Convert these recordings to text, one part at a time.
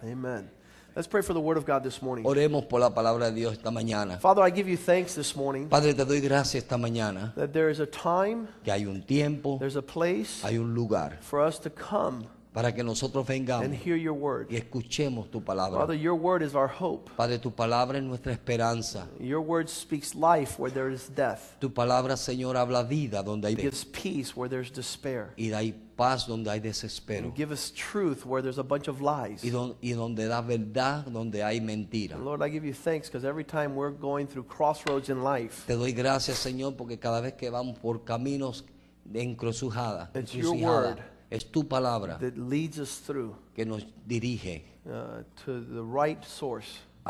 Amen. Let's pray for the word of God this morning. Oremos por la palabra de Dios esta mañana. Father, I give you thanks this morning Padre, te doy gracias esta mañana that there is a time, que hay un tiempo, there's a place hay un lugar for us to come para que nosotros vengamos and hear your word. y escuchemos tu palabra. Father, your word is our hope. Padre, tu palabra es nuestra esperanza. Your word speaks life where there is death. Tu palabra, Señor, habla vida donde hay It gives peace where there's despair. y da paz donde hay desespero. And give us truth where there's a bunch of lies. Y donde da verdad donde hay mentira. And Lord, I give you thanks because every time we're going through crossroads in life, Te doy gracias, Señor, porque cada vez que vamos por caminos de encrucijada, It's your word es tu palabra that leads us through que nos dirige to the right source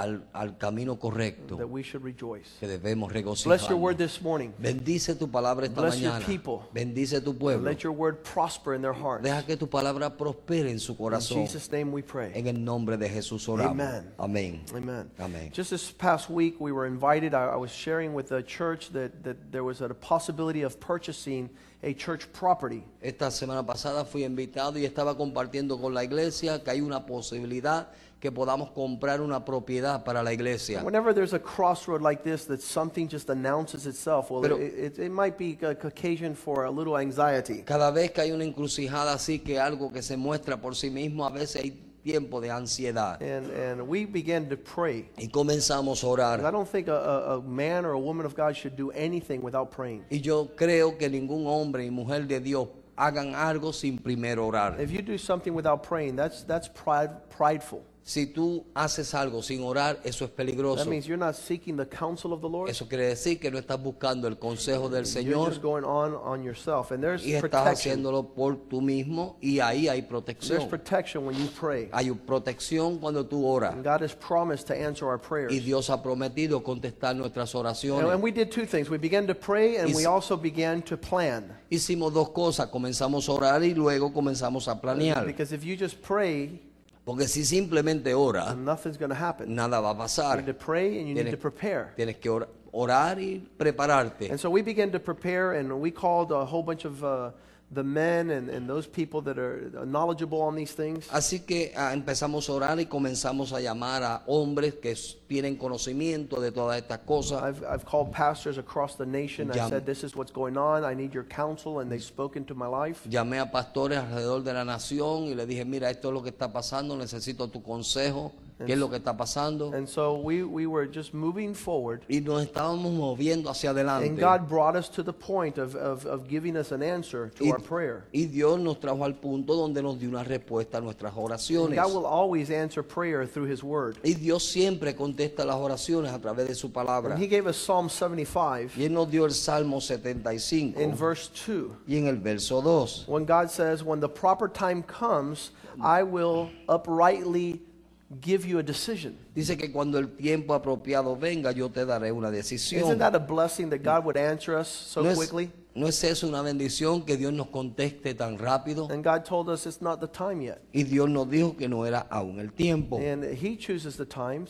al camino correcto that we should rejoice. que debemos Bless your regocijarnos. word this morning. Bendice tu palabra esta Bless your mañana. people. Bendice tu And pueblo. let your word prosper in their hearts. Deja que tu palabra prospere en su In corazón. Jesus' name we pray. En el nombre de Jesús oramos. Amen. Amén. Amen. Amén. Just this past week, we were invited. I was sharing with the church that there was a possibility of purchasing a church property. Esta semana pasada fui invitado y estaba compartiendo con la iglesia que hay una posibilidad que podamos comprar una propiedad para la iglesia. Whenever there's a crossroad like this, that something just announces itself, well, Pero- it might be an occasion for a little anxiety. Cada vez que hay una encrucijada así, que algo que se muestra por sí mismo, a veces hay tiempo de ansiedad. And we began to pray. Y comenzamos a And I orar. don't think a man or a woman of God should do anything without praying. Y yo creo que ningún hombre y mujer de Dios hagan algo sin primero orar. If you do something without praying, that's prideful. Si tú haces algo sin orar, eso es That peligroso. means you're not seeking the counsel of the Lord. Eso quiere decir que no estás buscando el consejo del You're Señor just going on yourself. And there's y estás protection. haciéndolo por tú mismo, y ahí hay There's protección. protection when you pray. Hay protección cuando tú oras. And God has promised to answer our Y prayers. Dios ha prometido contestar nuestras And oraciones. we did two things. We began to pray and we also began to plan. Hicimos dos cosas, comenzamos a orar y luego comenzamos a planear. Because if you just pray, Porque si simplemente oras, nothing's going to happen. nada va a You pasar. need to pray and you need to prepare. Tienes que orar y prepararte. And so we began to prepare, and we called a whole bunch of the men and those people that are knowledgeable on these things. Así que empezamos a orar y comenzamos a llamar a hombres que tienen conocimiento de todas estas cosas. I've called pastors across the nation. I Llam- said, this is what's going on. I need your counsel. And they spoke into my life. Llamé a pastores alrededor de la nación y le dije, mira, esto es lo que está pasando, necesito tu consejo, qué es lo que está pasando. And so we were just moving forward. Y nos estábamos moviendo hacia And adelante. God brought us to the point of giving us an answer to our prayer. Y Dios nos trajo al punto donde nos dio una respuesta a nuestras And oraciones. God will always answer prayer through His Word. Y Dios siempre contesta las oraciones a través de su palabra. And He gave us Psalm 75 Y Él nos dio el Salmo 75. in verse 2. Y en el verso 2. When God says, when the proper time comes, I will uprightly give you a decision. Dice que cuando el tiempo apropiado venga, yo te daré una decisión. Isn't that a blessing that God would answer us so ¿No quickly? ¿No es eso una bendición que Dios nos conteste tan rápido? And God told us it's not the time yet. Y Dios nos dijo que no era aún el tiempo. And He chooses the times.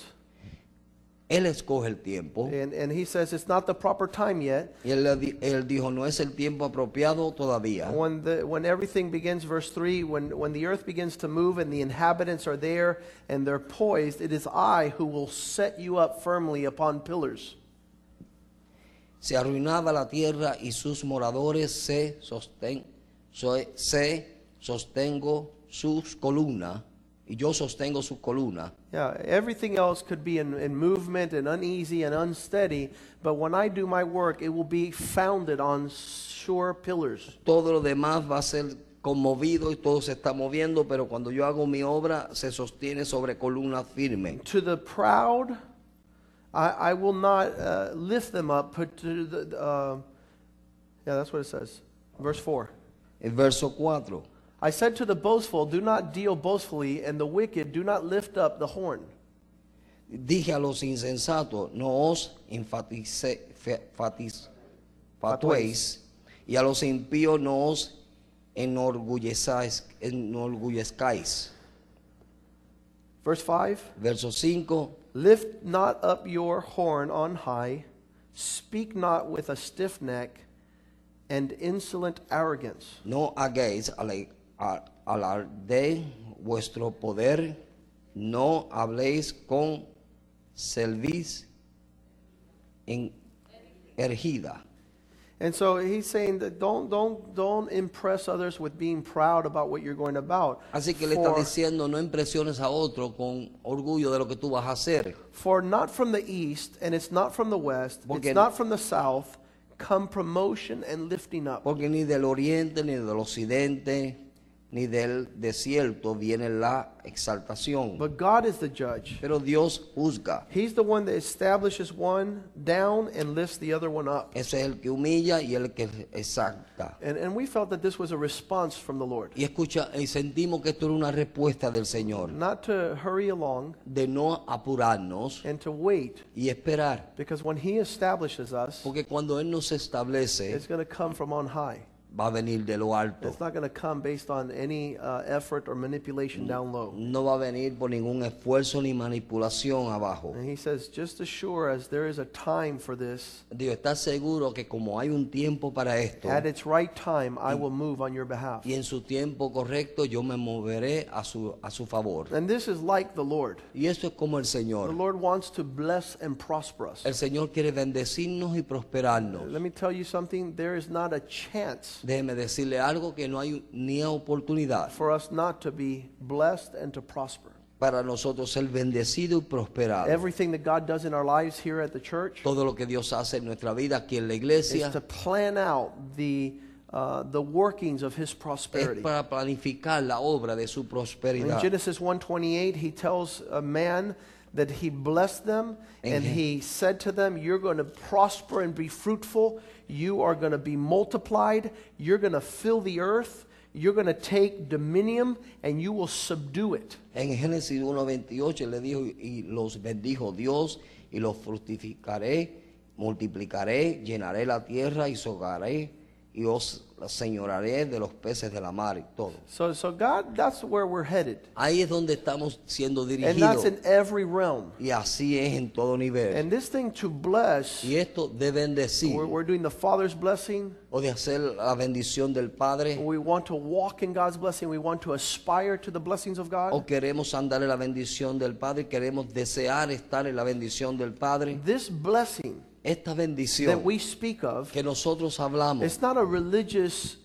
Él escoge el tiempo. And He says it's not the proper time yet. Y él dijo, no es el tiempo apropiado todavía. When everything begins, verse 3, when the earth begins to move and the inhabitants are there and they're poised, it is I who will set you up firmly upon pillars. Se arruinaba la tierra y sus moradores sostengo sus columnas. Y yo sostengo sus columnas. Yeah, everything else could be in movement and uneasy and unsteady, but when I do my work, it will be founded on sure pillars. Todo lo demás va a ser conmovido y todo se está moviendo, pero cuando yo hago mi obra se sostiene sobre columnas firmes. To the proud, I will not lift them up, but to the, yeah, that's what it says. Verse 4. El verso 4. I said to the boastful, do not deal boastfully, and the wicked, do not lift up the horn. Dije a los insensatos, no os fatuéis, y a los impíos no os enorgullezcáis. Verse 5. Verso 5. Lift not up your horn on high, speak not with a stiff neck and insolent arrogance. No hagáis alarde vuestro poder no habléis con cerviz ergida. And so he's saying that don't impress others with being proud about what you're going about. Así que le está For, diciendo, no impresiones a otro con orgullo de lo que tú vas a hacer. for not from the east, and it's not from the west, Porque- it's not from the south, come promotion and lifting up. Porque ni del oriente, ni del occidente, ni del desierto viene la exaltación. But God is the judge. Pero Dios juzga. He's the one that establishes one down and lifts the other one up. Ese es el que humilla y el que exalta. And we felt that this was a response from the Lord. Y escucha, y sentimos que esto era una respuesta del Señor. Not to hurry along De no apurarnos and to wait, y esperar. because when He establishes us, Porque cuando Él nos establece, it's going to come from on high. va a venir de lo alto. It's not going to come based on any effort or manipulation down low. No va a venir por ningún esfuerzo ni manipulación abajo. And He says, just as sure as there is a time for this, Dios está seguro que como hay un tiempo para esto, at its right time, I will move on your behalf. y en su tiempo correcto yo me moveré a su favor. And this is like the Lord. Y eso es como el The Señor. Lord wants to bless and prosper us. El Señor quiere bendecirnos y prosperarnos. Let me tell you something, there is not a chance Déjeme decirle algo, que no hay ni oportunidad for us not to be blessed and to prosper. para nosotros ser bendecidos y prosperados. Everything that God does in our lives here at the church Todo lo que Dios hace en nuestra vida aquí en la is iglesia to plan out the workings of His es prosperity. para planificar la obra de su In prosperidad. Genesis 1:28, He tells a man that He blessed them and Amen. He said to them, you're going to prosper and be fruitful. You are going to be multiplied. You're going to fill the earth. You're going to take dominion and you will subdue it. En Génesis 1:28 le dijo, y los bendijo Dios, y los fructificaré, multiplicaré, llenaré la tierra y sogaré, y os señoraré de los peces de la mar y todo. So God, that's where we're headed. Ahí es donde estamos siendo And that's dirigidos, in every realm. y así es en todo nivel. And this thing to bless, Y esto de bendecir, we're doing the Father's blessing. o de hacer la bendición del Padre, We want to walk in God's blessing. We want to aspire to the blessings of God. o queremos andar en la bendición del Padre, queremos desear estar en la bendición del Padre. This blessing Esta that bendición we speak of, que nosotros hablamos it's not a religious,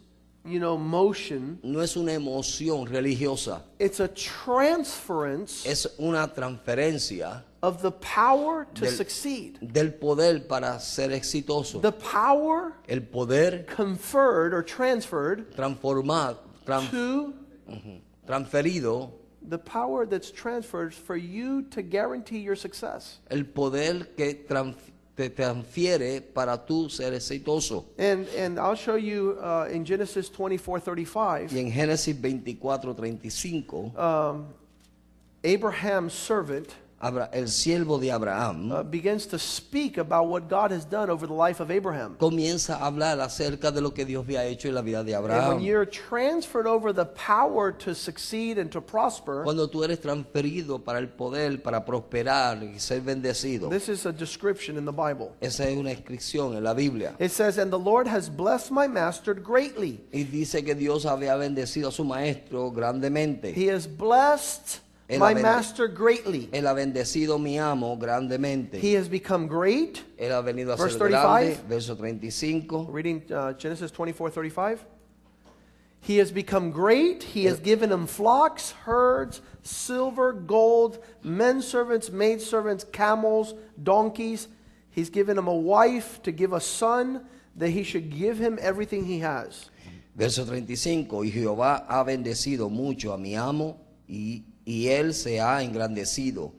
motion. no es una emoción religiosa, It's a transference es una transferencia of the power to Del- succeed. del poder para ser exitoso. The power El poder conferred or transferred transformado, to transferido, the power that's transferred for you to guarantee your success. el poder que te transfiere para tú ser exitoso. And I'll show you in Genesis 24:35. Y en Génesis 24:35, Abraham's servant el siervo de Abraham begins to speak about what God has done over the life of Abraham. comienza a hablar acerca de lo que Dios había hecho en la vida de And when Abraham. you're transferred over the power to succeed and to prosper, Cuando tú eres transferido para el poder, para prosperar y ser bendecido. this is a description in the Bible. Esa es una inscripción en la Biblia. It says, and the Lord has blessed my master greatly. Y dice que Dios había bendecido a su maestro grandemente. He has blessed Él my ha bend- master greatly. Él ha bendecido a mi amo grandemente. He has become great. Él ha venido a Verse ser grande. 35. Verso 35. Reading Genesis 24:35. He has become great. He has given him flocks, herds, silver, gold, men servants, maid servants, camels, donkeys. He's given him a wife to give a son, that he should give him everything he has. Verso 35. Y Jehová ha bendecido mucho a mi amo y él se ha engrandecido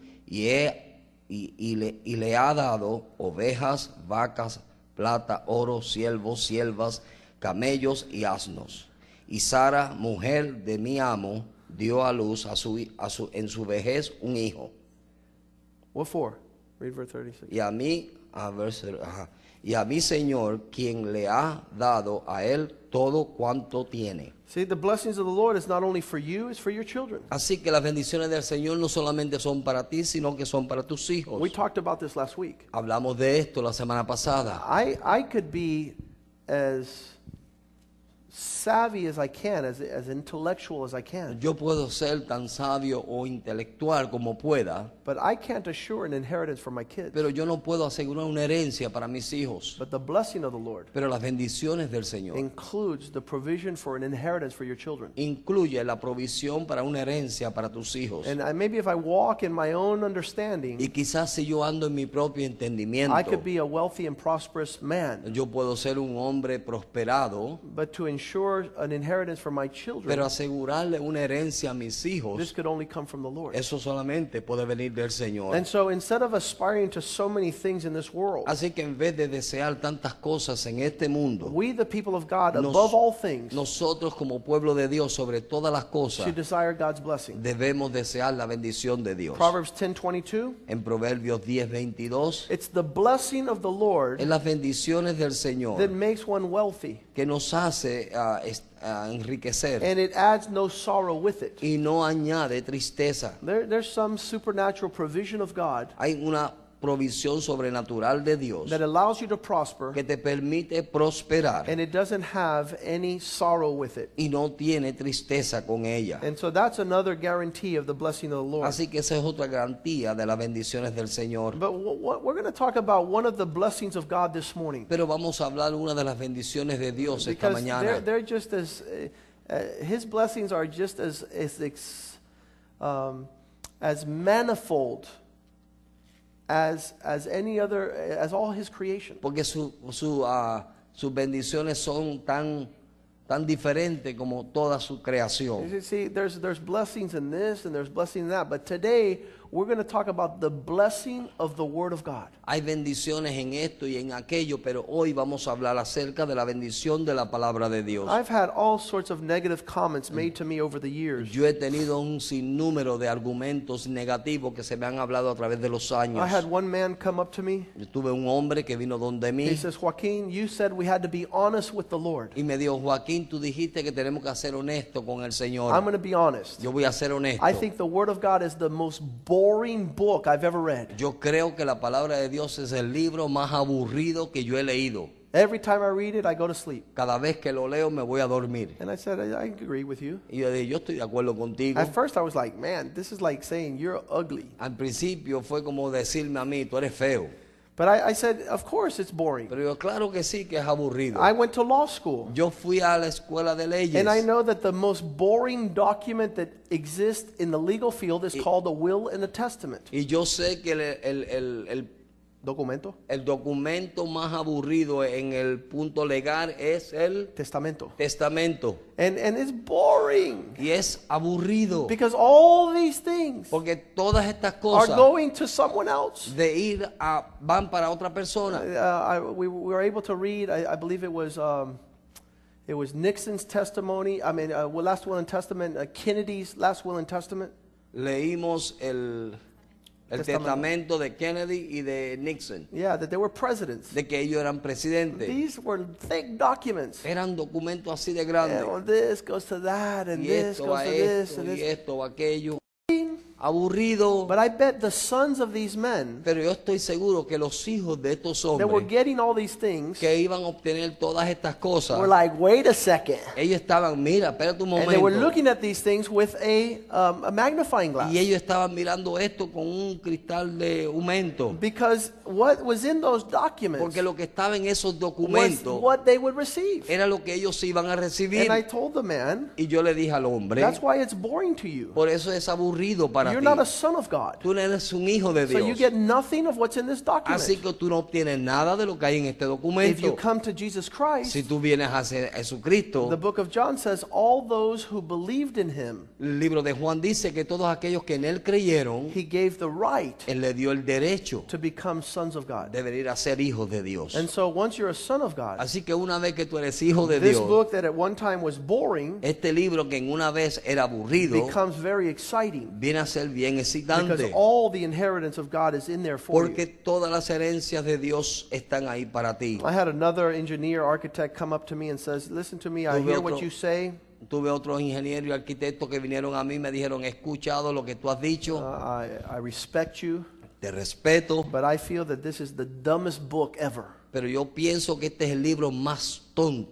y le ha dado ovejas, vacas, plata, oro, siervos, siervas, camellos y asnos. Y Sara, mujer de mi amo, dio a luz en su vejez un hijo. What for? Read verse 36. Y a mi Señor, quien le ha dado a él todo cuanto tiene. See, the blessings of the Lord is not only for you, it's for your children. Así que las bendiciones del Señor no solamente son para ti, sino que son para tus hijos. We talked about this last week. Hablamos de esto la semana pasada. I could be as savvy as I can, as intellectual as I can. Yo puedo ser tan sabio o intelectual como pueda, But I can't assure an inheritance for my kids. pero yo no puedo asegurar una herencia para mis hijos. But the blessing of the Lord Pero las bendiciones del Señor includes the provision for an inheritance for your children. incluye la provisión para una herencia para tus hijos. And maybe if I walk in my own understanding, Y quizás si yo ando en mi propio entendimiento, I could be a wealthy and prosperous man. yo puedo ser un hombre prosperado, But to ensure an inheritance for my children, pero asegurarle una herencia a mis this hijos, could only come from the Lord. eso solamente puede venir del Señor. And so instead of aspiring to so many things in this world, Así que en vez de desear tantas cosas en este mundo, we, the people of God, Nos- above all things, nosotros como pueblo de Dios, sobre todas las cosas, should desire God's blessing. debemos desear la bendición de Dios. Proverbs 10:22, En Proverbios 10:22, it's the blessing of the Lord en las bendiciones del Señor that makes one wealthy, que nos hace enriquecer and it adds no sorrow with it. y no añade tristeza. There's some supernatural provision of God Hay una provisión sobrenatural de Dios that allows you to prosper, que te permite prosperar and it doesn't have any sorrow with it. y no tiene tristeza con ella. And so that's another guarantee of the blessing of the Lord. Así que esa es otra garantía de las bendiciones del Señor. But we're going to talk about one of the blessings of God this morning, Pero vamos a hablar una de las bendiciones de Dios esta because mañana. they're just as His blessings are just as manifold as any other, as all His creation. Porque sus bendiciones son tan diferentes como toda su creación. You see, there's blessings in this and there's blessing in that, but today we're going to talk about the blessing of the Word of God. Hay bendiciones en esto y en aquello, pero hoy vamos a hablar acerca de la bendición de la palabra de Dios. I've had all sorts of negative comments made to me over the years. Yo he tenido un sinnúmero de argumentos negativos que se me han hablado a través de los años. I had one man come up to me. Yo tuve un hombre que vino donde mí He says, Joaquin, you said we had to be honest with the Lord. y me dijo, Joaquín, tú dijiste que tenemos que ser honestos con el Señor. I'm going to be honest. Yo voy a ser honesto. I think the Word of God is the most boring book I've ever read. Yo creo que la palabra de Dios es el libro más aburrido que yo he leído. Every time I read it, I go to sleep. Cada vez que lo leo me voy a dormir. And I said, I agree with you. Y yo dije, yo estoy de acuerdo contigo. At first, I was like, man, this is like saying you're ugly. Al principio fue como decirme a mí, tú eres feo. But I said, of course it's boring. Pero yo, claro que sí, que es aburrido. I went to law school. Yo fui a la escuela de leyes. And I know that the most boring document that exists in the legal field is called a will and a testament. Y yo sé que el Documento. El documento más aburrido en el punto legal es el Testamento. testamento. And it's boring. Y es aburrido. Because all these things Porque todas estas are cosas going to someone else. de ir a van para otra persona. We were able to read, I believe it was Nixon's testimony, last will and testament, Kennedy's last will and testament. Leímos el testamento de Kennedy y de Nixon, Yeah, that they were presidents. de que ellos eran presidentes. These were thick documents. Eran documentos así de And grandes. well, this goes to that, and Y this esto goes va to this, esto, and y this. esto va aquello. Aburrido. But I bet the sons of these men Pero yo estoy seguro que los hijos de estos that were hombres getting all these things que iban a obtener todas estas cosas, were like, wait a second. ellos estaban, mira, espérate un And they were momento. looking at these things with a magnifying glass. Y ellos estaban mirando esto con un cristal de aumento. Because what was in those documents Porque lo que estaba en esos was documentos what they would receive. era lo que ellos iban a recibir. And I told the man, Y yo le dije al hombre, that's why it's boring to you. por eso es aburrido para You're ti. not a son of God. Tú no eres un hijo de So you Dios. get nothing of what's in this Así document. que tú no obtienes nada de lo que hay en este If you documento. come to Jesus Christ, Si tú vienes a Jesucristo, the book of John says, all those who believed in him, el libro de Juan dice que todos aquellos que en él creyeron, he gave the right él le dio el derecho to become sons of God. de venir a ser hijos de Dios. And so once you're a son of God, Así que una vez que tú eres hijo de this Dios, book that at one time was boring este libro que en una vez era aburrido, becomes very exciting viene a ser bien because excitante. all the inheritance of God is in there for Porque you. todas las herencias de Dios están ahí para ti. I had another engineer, architect come up to me and says, listen to me, I Tuve hear what otro- you say. Tuve otros ingenieros y arquitectos que vinieron a mí y me dijeron, he escuchado lo que tú has dicho, I respect you, te respeto, but I feel that this is the dumbest book ever. pero yo pienso que este es el libro más tonto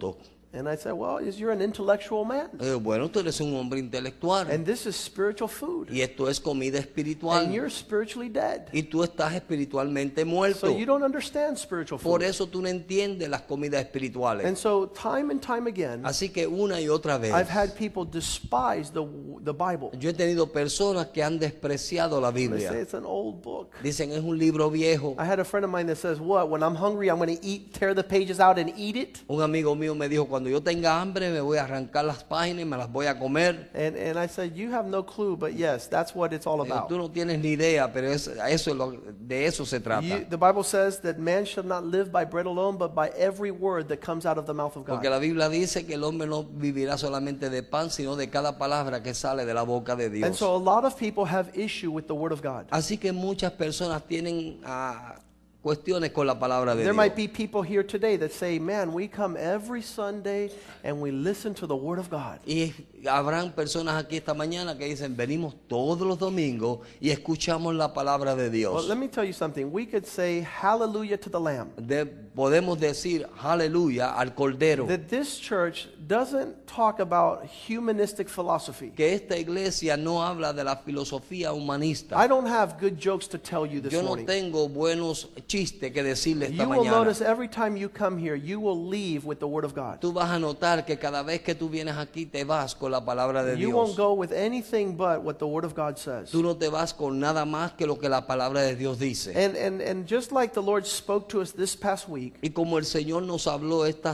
And I said, well, you're an intellectual man. Bueno, tú eres un hombre intelectual. And this is spiritual food. Y esto es comida And espiritual. you're spiritually dead. Y tú estás espiritualmente muerto. So you don't understand spiritual Por food. eso tú no entiendes las comidas espirituales. And so time and time again, Así que una y otra vez, I've had people despise the Bible. yo he tenido personas que han despreciado la They say Biblia. it's an old book. Dicen es un libro viejo. I had a friend of mine that says, what, when I'm hungry, I'm going to tear the pages out and eat it? Un amigo mío me dijo, cuando yo tenga hambre me voy a arrancar las páginas y me las voy a comer. And I said, you have no clue, but yes, that's what it's all about. Tú no tienes ni idea, pero de eso se trata. The Bible says that man shall not live by bread alone, but by every word that comes out of the mouth of God. Porque la Biblia dice que el hombre no vivirá solamente de pan, sino de cada palabra que sale de la boca de And Dios. so a lot of people have issue with the word of God. Así que muchas personas tienen cuestiones con la palabra de There Dios. might be people here today that say, man, we come every Sunday and we listen to the word of God. Y habrán personas aquí esta mañana que dicen, venimos todos los domingos y escuchamos la palabra de Well, Dios. let me tell you something. We could say hallelujah to the Lamb. Podemos decir aleluya al Cordero. That this church doesn't talk about humanistic philosophy. Que esta iglesia no habla de la filosofía humanista. I don't have good jokes to tell you this Yo no morning. tengo buenos chistes que decirle esta You will mañana. notice every time you come here, you will leave with the word of God. Tú vas a notar que cada vez que tú vienes aquí te vas con la palabra de You won't Dios. go with anything but what the word of God says. Tú no te vas con nada más que lo que la palabra de Dios dice. And just like the Lord spoke to us this past week, Y como el Señor nos habló esta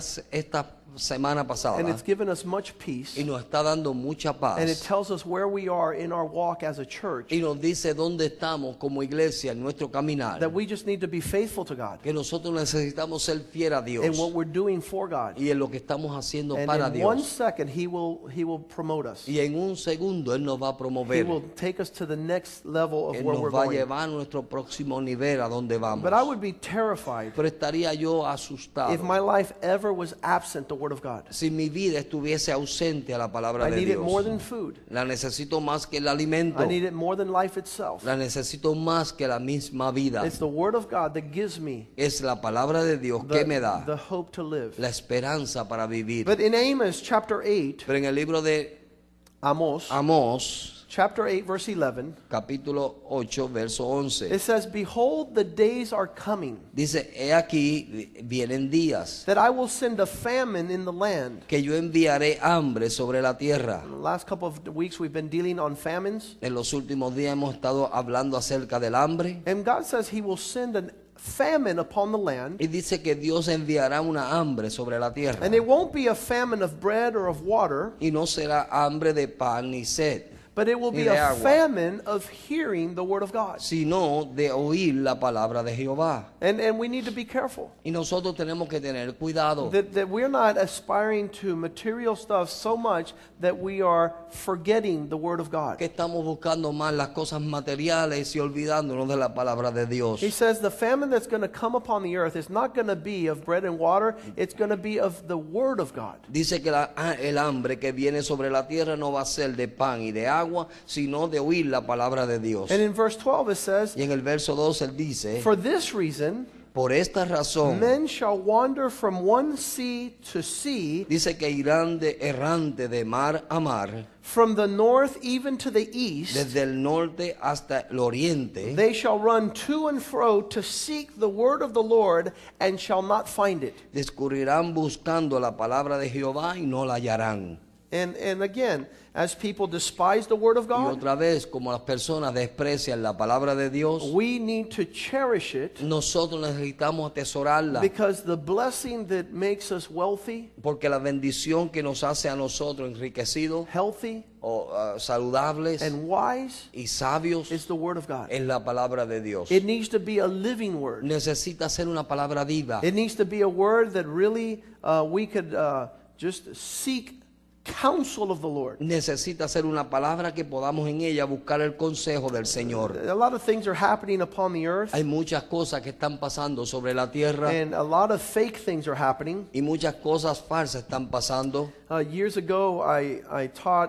semana pasada and it's given us much peace, y nos está dando mucha and it paz tells us where we are in our walk as a church, y nos dice dónde estamos como iglesia en nuestro caminar, that we just need to be faithful to God que nosotros necesitamos ser fiel a Dios in what we're doing for God. y en lo que estamos haciendo And para in 1 Dios. second, He will promote us. Y en un segundo Él nos va a He promover. will take us to the next level of Él where nos we're va a going. llevar a nuestro próximo nivel a donde vamos. But I would be terrified Pero estaría yo if asustado my life ever was absent the word of God. si mi vida estuviese ausente a la palabra I de need it more Dios. than food. La necesito más que el alimento. I need it more than life itself. La necesito más que la misma vida. It's the word of God that gives me Es la palabra de Dios que me da the hope to live. la esperanza para vivir. But in Amos chapter 8, Pero en el libro de Amos, Amós, chapter 8, verse 11, capítulo 8, verso 11, it says, behold, the days are coming, dice, he aquí vienen días that I will send a famine in the land. que yo enviaré hambre sobre la tierra. In the last couple of weeks, we've been dealing on famines. En los últimos días hemos estado hablando acerca del hambre. And God says He will send a famine upon the land. Y dice que Dios enviará una hambre sobre la tierra. And it won't be a famine of bread or of water, Y no será hambre de pan ni sed, but it will Ni be de a agua. famine of hearing the word of God. sino de oír la palabra de Jehová. And we need to be careful Y nosotros tenemos que tener cuidado. that we're not aspiring to material stuff so much that we are forgetting the word of God. Que estamos buscando más las cosas materiales y olvidándonos de la palabra de Dios. He says the famine that's going to come upon the earth is not going to be of bread and water, it's going to be of the word of God. Dice que el hambre que viene sobre la tierra no va a ser de pan y de agua, sino de oír la palabra de Dios. And in verse 12 it says, Y en el verso 2 él dice, for this reason, por esta razón, men shall wander from one sea to sea, dice que irán de errante de mar a mar, from the north even to the east. desde el norte hasta el oriente. They shall run to and fro to seek the word of the Lord and shall not find it. Discurrirán buscando la palabra de Jehová y no la hallarán. And again, as people despise the word of Y God, otra vez, como las personas desprecian la palabra de Dios, we need to cherish it, nosotros necesitamos atesorarla, because the blessing that makes us wealthy, porque la bendición que nos hace a nosotros enriquecidos healthy, o saludables and wise y sabios is the word of God. es la palabra de Dios. It needs to be a living word. Necesita ser una palabra viva. It needs to be a word that really we could just seek counsel of the Lord. Necesita ser una palabra que podamos en ella buscar el consejo del Señor. A lot of things are happening upon the earth, Hay muchas cosas que están pasando sobre la tierra and a lot of fake things are happening. y muchas cosas falsas están pasando. Years ago, I taught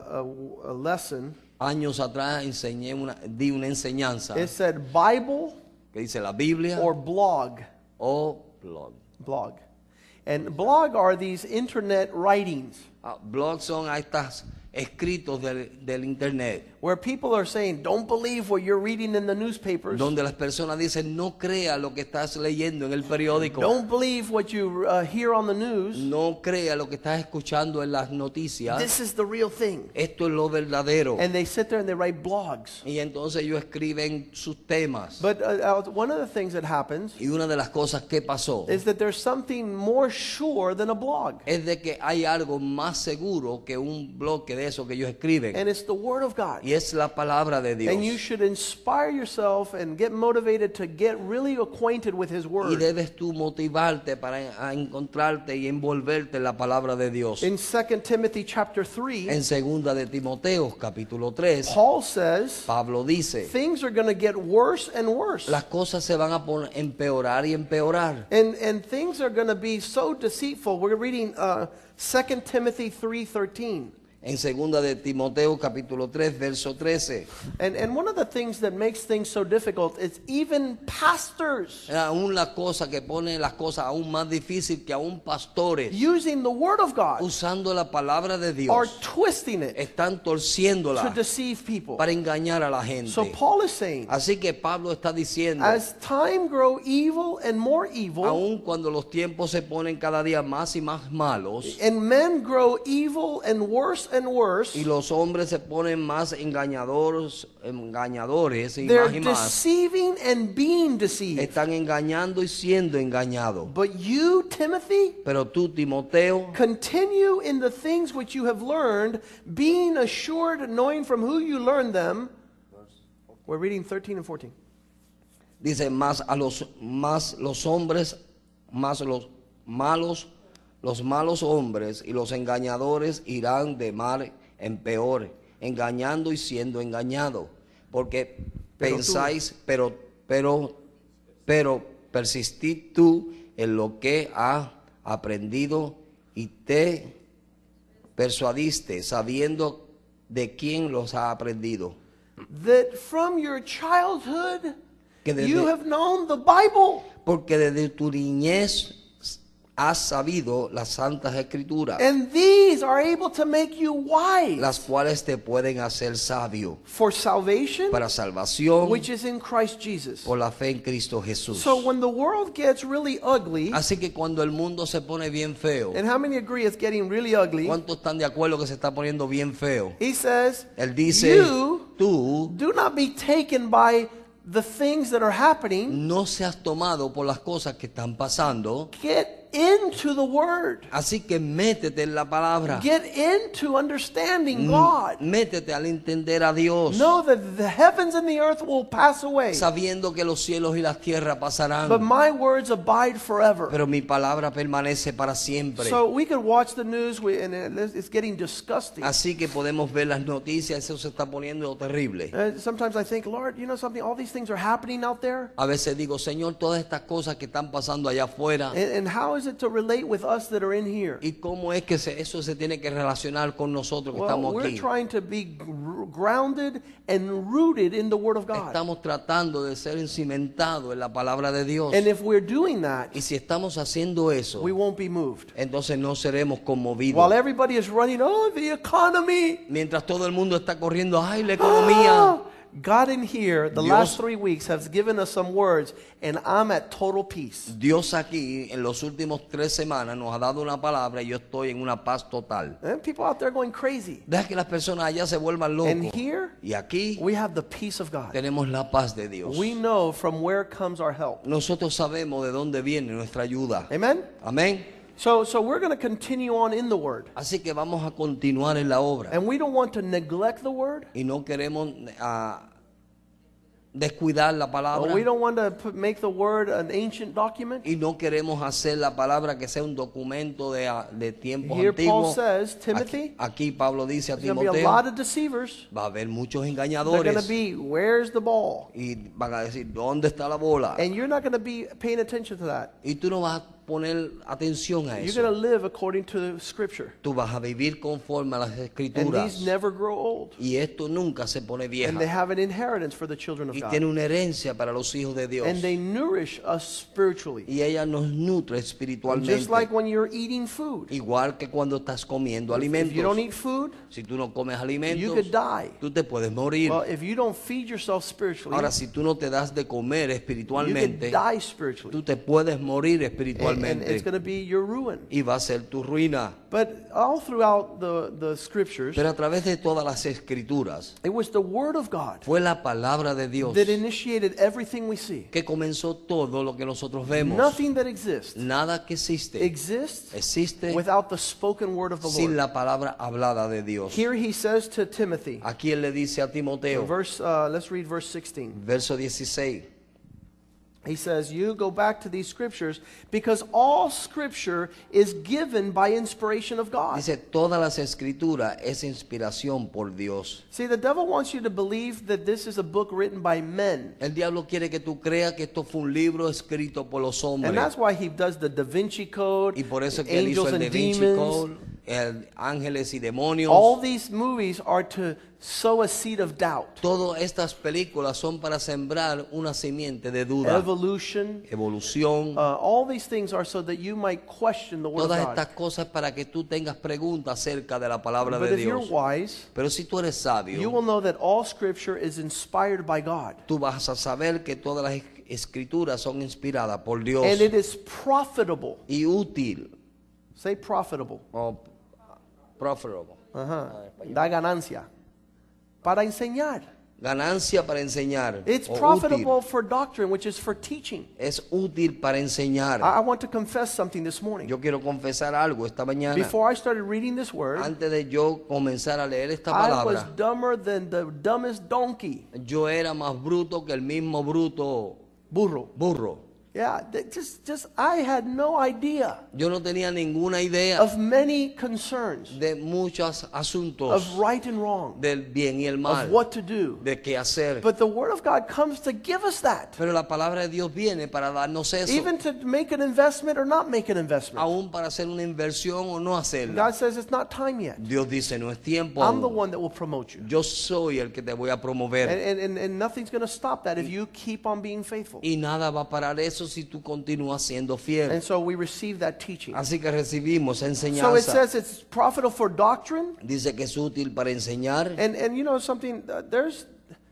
a lesson. Años atrás di una enseñanza It said Bible que dice la Biblia or blog. o blog. Blog. And blog are these internet writings Blogs son estas escritos del internet, where people are saying, don't believe what you're reading in the newspapers. donde las personas dicen no crea lo que estás leyendo en el periódico, Don't believe what you hear on the news. no crea lo que estás escuchando en las noticias. This is the real thing. Esto es lo verdadero. And they sit there and they write blogs. Y entonces ellos escriben sus temas. But one of the things that happens Y una de las cosas que pasó is that there's something more sure than a blog. es de que hay algo más seguro que un bloque de eso que ellos escriben. And it's the Word of God. Y es la palabra de Dios. And you should inspire yourself and get motivated to get really acquainted with His Y Word. debes tú motivarte para encontrarte y envolverte en la palabra de Dios. In 2 Timothy chapter 3, En segunda de Timoteo, capítulo 3, Paul says Pablo dice, things are going to get worse and worse. las cosas se van a empeorar y empeorar. And things are going to be so deceitful. We're reading 2 Timothy 3:13. En segunda de Timoteo, capítulo 3, verso 13. And one of the things that makes things so difficult is even pastors Aún la cosa que pone las cosas aún más difícil que aún pastores, using the Word of God usando la palabra de are Dios, twisting it están to torciéndola deceive people. para engañar a la gente. So Paul is saying, Así que Pablo está diciendo, as time grow evil and more evil, aun cuando los tiempos se ponen cada día más y más malos, and men grow evil and worse and worse, y los hombres se ponen más engañadores y they're más y más, deceiving and being deceived. están engañando y siendo engañados. But you, Timothy, Pero tú, Timoteo, continue in the things which you have learned, being assured, knowing from who you learned them. We're reading 13 and 14. dice, más los hombres, más los malos hombres y los engañadores irán de mal en peor, engañando y siendo engañados. Porque Pero pensáis, pero persistid tú en lo que has aprendido y te persuadiste, sabiendo de quién los ha aprendido. That from your childhood Que desde- you have known the Bible, Porque desde tu niñez has sabido las santas escrituras, and these are able to make you wise las cuales te pueden hacer sabio for salvation, para salvación which is in Christ Jesus. por la fe en Cristo Jesús. So when the world gets really ugly, Así que cuando el mundo se pone bien feo, and how many agree it's getting really ugly? ¿cuántos están de acuerdo que se está poniendo bien feo? He says, Él dice, you tú do not be taken by the things that are happening. no seas tomado por las cosas que están pasando. Get into the Word. Así que métete en la palabra. Get into understanding God. Métete al entender a Dios, Know that the heavens and the earth will pass away, sabiendo que los cielos y las tierras pasarán, but my words abide forever. pero mi palabra permanece para siempre. So we could watch the news and it's getting disgusting. Así que podemos ver las noticias, eso se está poniendo terrible. Sometimes I think, Lord, you know something? All these things are happening out there. A veces digo, Señor, todas estas cosas que están pasando allá afuera, And how is it to relate with us that are in here? ¿y cómo es que eso se tiene que relacionar con nosotros que Well, estamos we're aquí? trying to be grounded and rooted in the Word of God. Estamos tratando de ser cimentados en la palabra de Dios. And if we're doing that, Y si estamos haciendo eso, we won't be moved. entonces no seremos conmovidos. While everybody is running, oh, the economy. Mientras todo el mundo está corriendo, ¡ay, la economía! Ah! God in here, the Dios- last 3 weeks, has given us some words, and I'm at total peace. Dios aquí en los últimos 3 semanas nos ha dado una palabra y yo estoy en una paz total. And people out there going crazy. Deja que las personas allá se vuelvan locos. And here, Y aquí we have the peace of God. tenemos la paz de Dios. We know from where comes our help. Nosotros sabemos de dónde viene nuestra ayuda. Amen? Amén. So we're going to continue on in the Word. Así que vamos a continuar en la obra. And we don't want to neglect the Word. Y no queremos descuidar la palabra. We don't want to make the Word an ancient document. Y no queremos hacer la palabra que sea un documento de tiempos Here Paul antiguos. says, Timothy, Aquí Pablo dice a there's going to be a lot Timoteo, of deceivers. va a haber muchos They're going to engañadores. be, where's the ball? Y van a decir, ¿dónde está la bola? And you're not going to be paying attention to that. Y tú no vas a poner atención a You're eso. going to live according to the Scripture. Tú vas a vivir conforme a las And escrituras. these never grow old. Y esto nunca se pone And they vieja. have an inheritance for the children of Y God. tiene una herencia para los hijos de Dios. And they nourish us spiritually. Y ella nos nutre Just espiritualmente. like when you're eating food. Igual que cuando estás comiendo If you don't alimentos. eat food, Si tú no comes you alimentos, could die. tú te puedes morir. Well, if you don't feed yourself spiritually, Ahora, si tú no te das de comer you could espiritualmente, die spiritually. tú te puedes morir And it's espiritualmente. going to be your ruin. Y va a ser tu ruina. But all throughout the Scriptures, Pero a través de todas las escrituras, it was the Word of God fue la palabra de Dios that initiated everything we see. que comenzó todo lo que nosotros vemos. Nothing that exists Nada que existe existe without the spoken word of the sin Lord. la palabra hablada de Dios. Here he says to Timothy, Aquí él le dice a Timoteo, let's read verse 16. verso 16. He says, you go back to these scriptures because all scripture is given by inspiration of God. Dice, todas las escrituras es inspiración por Dios. See, the devil wants you to believe that this is a book written by men. El diablo quiere que tú creas que esto fue un libro escrito por los And hombres. that's why he does the Da Vinci Code, Y por eso que él hizo angels el Da and Vinci demons. Code, el ángeles y demonios. All these movies are to sow a seed of doubt. Todas estas películas son para sembrar una simiente de duda, Evolution, evolución. all these things are so that you might question the word Todas of estas God. cosas para que tú tengas preguntas acerca de la palabra But de if you're Dios. wise, Pero si tú eres you sabio, will know that all scripture is inspired by God. tú vas a saber que todas las escrituras son inspiradas por Dios And it is profitable. y útil Say profitable. o profitable. Da ganancia. Para enseñar. Ganancia para enseñar. It's o profitable útil. for doctrine, which is for teaching. Es útil para enseñar. I want to confess something this morning. Yo quiero confesar algo esta mañana. Before I started reading this word, Antes de yo comenzar a leer esta I was palabra, dumber than the dumbest donkey. yo era más bruto que el mismo bruto Burro. burro. Yeah, I had no idea Yo no tenía ninguna idea of many concerns de muchos asuntos of right and wrong, del bien y el mal, of what to do. de qué hacer. But the Word of God comes to give us that, Pero la palabra de Dios viene para darnos eso, even to make an investment or not make an investment. aún para hacer una inversión o no hacerla. God says it's not time yet. Dios dice, no es tiempo I'm the aún. one that will promote you. Yo soy el que te voy a promover. And nothing's going to stop that if you keep on being faithful. Y nada va a parar eso si tú continúas siendo fiel. And so we receive that teaching. Así que recibimos So it enseñanza. says it's profitable for doctrine. Dice que es útil para enseñar. And you know something, there's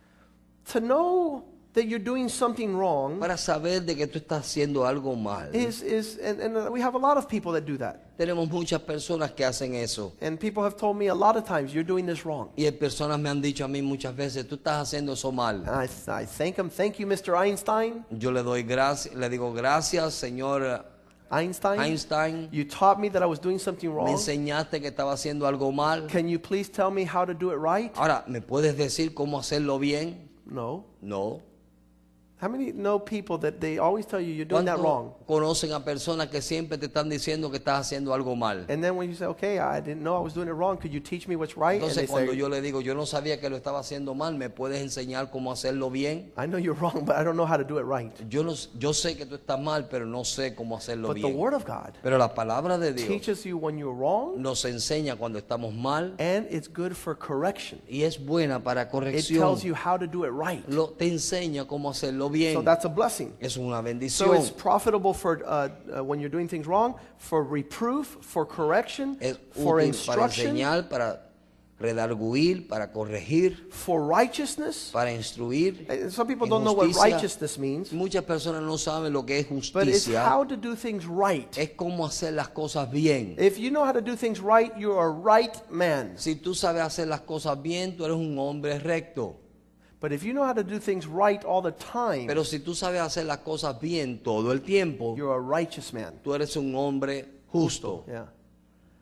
to know that you're doing something wrong Para saber de que tú estás haciendo algo mal. and we have a lot of people that do that. Tenemos muchas personas que hacen eso. And people have told me a lot of times, you're doing this wrong. Y personas me han dicho a mí muchas veces, tú estás haciendo eso mal. And I thank him. Thank you, Mr. Einstein. Yo le doy gracias, le digo gracias, señor Einstein. You taught me that I was doing something Me wrong. enseñaste que estaba haciendo algo mal. Can you please tell me how to do it right? Ahora, ¿me puedes decir cómo hacerlo bien? No. No. How many know people that they always tell you you're doing that wrong? ¿Cuántos conocen a personas que siempre te están diciendo que estás haciendo algo mal? And then when you say, okay, I didn't know I was doing it wrong, could you teach me what's right? And they Entonces cuando say, yo le digo, yo no sabía que lo estaba haciendo mal, ¿me puedes enseñar cómo hacerlo bien? I know you're wrong, but I don't know how to do it right. Yo sé que tú estás mal, pero no sé cómo hacerlo But the bien. Word of God Pero la palabra de Dios teaches you when you're wrong, nos enseña cuando estamos mal and it's good for correction. y es buena para It corrección. tells you how to do it right. Te enseña cómo hacerlo bien. So that's a blessing. Es una So bendición. it's profitable for when you're doing things wrong, for reproof, for correction, Es for útil para instruction, enseñar, para redarguir, para corregir, for righteousness. para instruir. Some people en don't know what justicia. righteousness means, Muchas personas no saben lo que es but it's justicia. how to do things right. Es cómo hacer las cosas bien. If you know how to do things right, you're a right man. Si tú sabes hacer las cosas bien, tú eres un hombre recto. But if you know how to do things right all the time, Pero si tú sabes hacer las cosas bien todo el tiempo, you're a righteous man. tú eres un hombre justo. Yeah.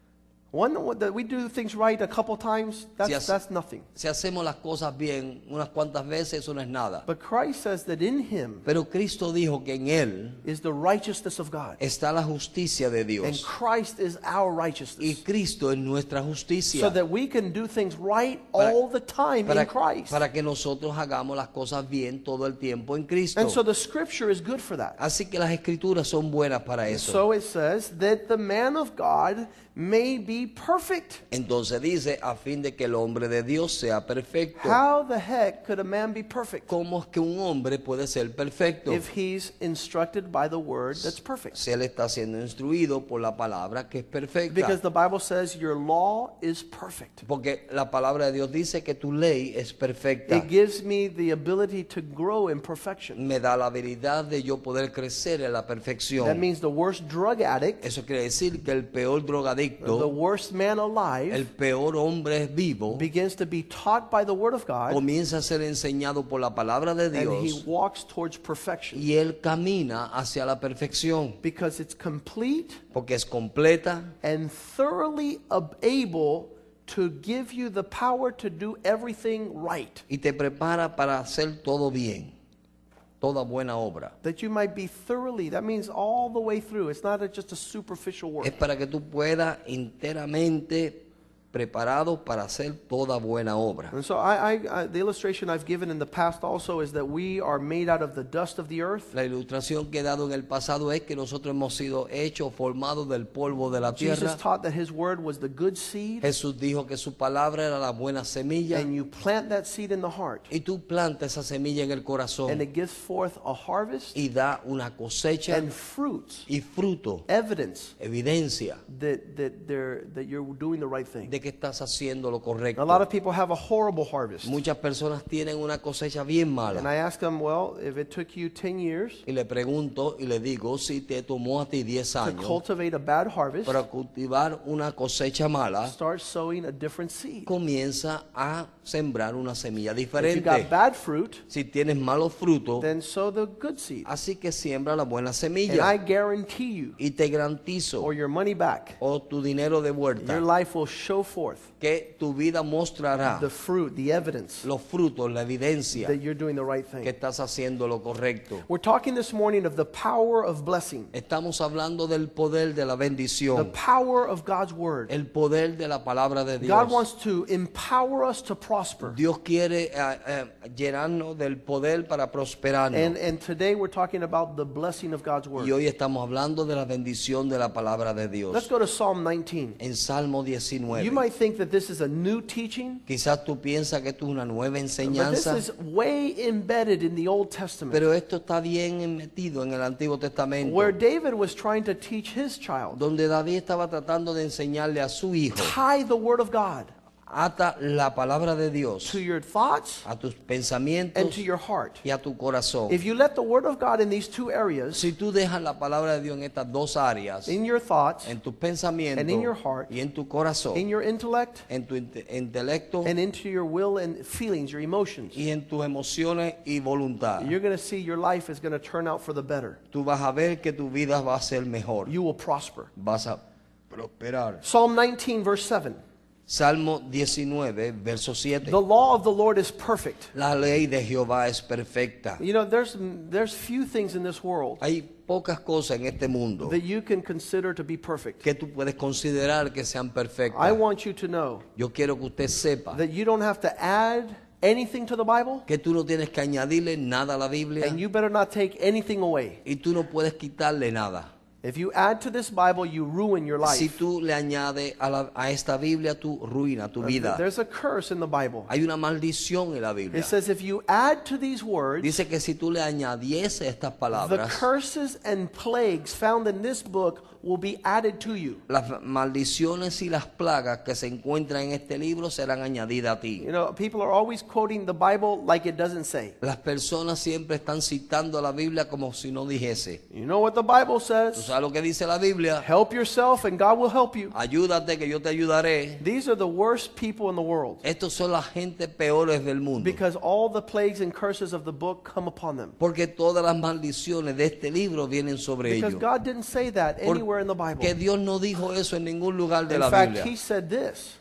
That we do things right a couple times, that's nothing. Si hacemos las cosas bien unas cuantas veces, eso no es nada. But Christ says that in him Pero Cristo dijo que en Él is the righteousness of God. está la justicia de And Dios. Christ is our Y righteousness. Cristo es nuestra So justicia. that we can do things right Para- all the time in Christ. Para que nosotros hagamos las cosas bien todo el tiempo en Cristo. And so the scripture is good for that. Así que las escrituras son buenas para eso. So it says that the man of God may be perfect. Entonces dice, a fin de que el hombre de Dios sea perfecto. How the heck could a man be perfect ¿Cómo es que un hombre puede ser perfecto? if he's instructed by the word that's perfect? Si él está siendo instruido por la palabra que es perfecta. Because the Bible says your law is perfect. Porque la palabra de Dios dice que tu ley es perfecta. It gives me the ability to grow in perfection. Me da la habilidad de yo poder crecer en la That perfección. means the worst drug addict, Eso quiere decir que el peor the drogadicto, worst man el alive, peor hombre vivo, begins to be taught by the word of God, comienza a ser enseñado por la palabra de and he Dios walks towards perfection. y él camina hacia la perfección. Because it's complete Porque es completa and thoroughly able to give you the power to do everything right, y te prepara para hacer todo bien, toda buena obra. that you might be thoroughly, that means all the way through. It's not just a superficial work. Es para que tú puedas enteramente preparado para hacer toda buena obra. And so the illustration I've given in the past also is that we are made out of the dust of the earth. La ilustración que he dado en el pasado es que nosotros hemos sido hechos, formados del polvo de la Jesus tierra. taught that his word was the good seed, Jesús dijo que su palabra era la buena semilla and you plant that seed in the heart, y tú plantas esa semilla en el and corazón it gives forth a harvest y da una cosecha and fruits, y fruto, evidence evidencia that you're doing the right thing. de que estás haciendo lo A lot correcto. of people have a horrible harvest. Muchas personas tienen una cosecha bien And mala. I ask them, well, if it took you 10 years Y le pregunto y le digo, si te tomó a ti 10 to años cultivate a bad harvest, para cultivar una cosecha mala, start sowing a different seed. comienza a sembrar una semilla If you diferente. got bad fruit, Si tienes malos frutos, then sow the good seed. así que siembra la buena And I semilla. guarantee you, Y te garantizo, or your money back, o tu dinero de your vuelta, life will show forth que tu vida mostrará the fruit, the evidence los frutos, la evidencia that you're doing the right que thing. estás haciendo lo correcto. We're talking this morning of the power of blessing, Estamos hablando del poder de la the bendición, power of God's word. el poder de la palabra de God Dios. wants to empower us to prosper. Dios quiere llenarnos del poder para prosperarnos. And today we're talking about the blessing of God's Y word. hoy estamos hablando de la bendición de la palabra de Let's Dios. go to Psalm 19. En Salmo You 19. might think that this is a new teaching, Quizás tú piensas que esto es una nueva but this enseñanza, is way embedded in the Old Testament, pero esto está bien metido en el Antiguo Testamento, where David was trying to teach his child, donde David estaba tratando de enseñarle a su hijo, tie the word of God ata la palabra de Dios to your thoughts a tus and pensamientos to your heart. y a tu corazón. If you let the word of God in these two areas, Si tú dejas la palabra de Dios en estas dos áreas, in your thoughts, en tus pensamientos and in your heart, y en tu corazón, in your intellect, en tu intelecto and into your will and feelings, your emotions, y en tus emociones y voluntad, you're going to see your life is going to turn out for the better. tú vas a ver que tu vida va a ser mejor, You will prosper. vas a prosperar. Psalm 19, verse 7. Salmo 19, verso 7. The law of the Lord is perfect. La ley de Jehová es perfecta. You know, there's few things in this world Hay pocas cosas en este mundo that you can consider to be perfect. que tú puedes considerar que sean I perfectas. want you to know Yo quiero que usted sepa that you don't have to add anything to the Bible, que tú no tienes que añadirle nada a la Biblia and you better not take anything away. y tú no puedes quitarle nada. If you add to this Bible, you ruin your Si life. tú le añades a esta Biblia, tú ruinas tu vida. There's a curse in the Bible. Hay una maldición en la Biblia. It says if you add to these words, Dice que si tú le añadiese estas the palabras, curses and plagues found in this book will be added to you. las maldiciones y las plagas que se encuentran en este libro serán añadidas a ti. You know, people are always quoting the Bible like it doesn't say. Las personas siempre están citando la Biblia como si no dijese. You know what the Bible ¿Tú says? sabes lo que dice la Biblia? Help yourself and God will help you. Ayúdate que yo te ayudaré. These are the worst people in the world Estos son las gente peores del mundo. because all the plagues and curses of the book come upon them. Porque todas las maldiciones de este libro vienen sobre Because ellos. God didn't say that anywhere anywhere in the Bible. Que Dios no dijo eso en ningún lugar de In la fact, Biblia. he said this,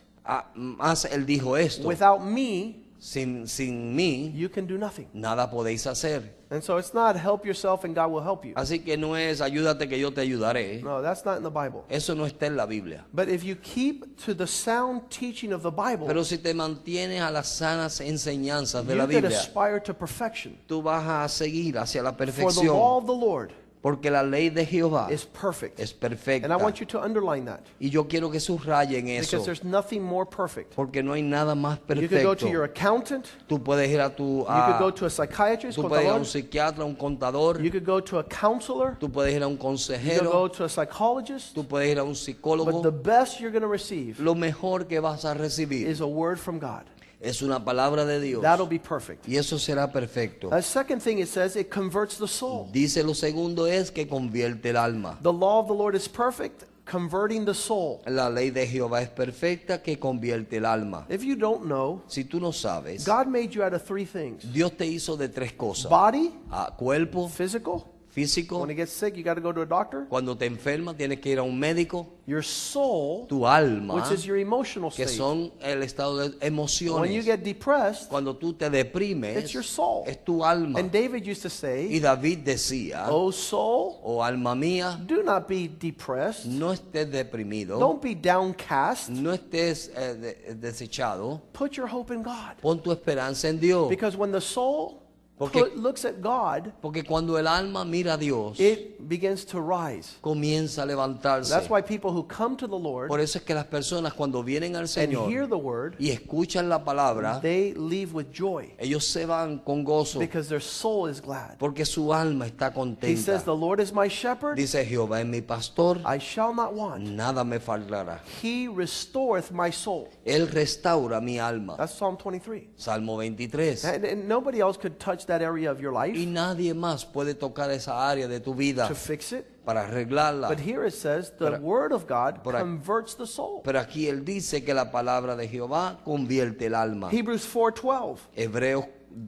Más él dijo esto. without me, Sin mí, you can do nothing. nada podéis hacer. And so it's not help yourself and God will help you. Así que no es ayúdate que yo te ayudaré. No, that's not in the Bible. Eso no está en la Biblia. But if you keep to the sound teaching of the Bible, Pero si te mantienes a las sanas enseñanzas de you la can Biblia, aspire to perfection. tú vas a seguir hacia la For the perfección. law of the Lord Porque la ley de Jehová is perfect. es And perfecta. I want you to underline that, Y yo quiero que subrayen because eso. there's nothing more perfect. Porque no hay nada más You could go to perfecto. your accountant, Tú puedes ir a tu... you could go a- to a psychiatrist, Tú puedes ir a un contador. psiquiatra, un contador. You could go to a counselor, Tú puedes ir a un you could consejero. go to a psychologist, Tú puedes ir a un but the psicólogo. best you're going to receive Lo mejor que vas a recibir is a word from God. es una palabra de Dios. That'll be perfect. Y eso será perfecto. The second thing it says, it converts the soul. Dice lo segundo es que convierte el alma. The law of the Lord is perfect, converting the soul. La ley de Jehová es perfecta que convierte el alma. If you don't know, Si tú no sabes, God made you out of three things: Dios te hizo de tres cosas. body, Cuerpo, physical. físico. When you get sick, you got to go to a doctor. Cuando te enfermas tienes que ir a un médico. Your soul, Tu alma, which is your emotional que state. son el estado de When you emociones. get depressed, Cuando tú te deprimes, it's your soul. es tu alma. And David used to Y say, David decía, "O soul, oh alma mía, do not be depressed. no estés deprimido, Don't be downcast. no estés desechado, Put your hope in God." pon tu esperanza en Dios. Because when the soul Porque- looks at God, Porque cuando el alma mira a Dios, it begins to rise. comienza a levantarse. That's why people who come to the Lord Por eso es que las personas cuando vienen al and Señor hear the word, y escuchan la palabra, they leave with joy ellos se van con gozo because their soul is glad. porque su alma está He contenta. says, "The Lord is my shepherd, Dice Jehová es mi pastor, I shall not want. nada me faltará. He restoreth my soul." Él restaura mi alma. That's Psalm 23. Salmo 23. And nobody else could touch that area of your life Y nadie más puede tocar esa área de tu vida to fix it. para arreglarla. But here it says, the Pero- word of God por aquí- converts the soul. Pero aquí él dice que la palabra de Jehová convierte el alma. Hebrews 4:12. Hebreos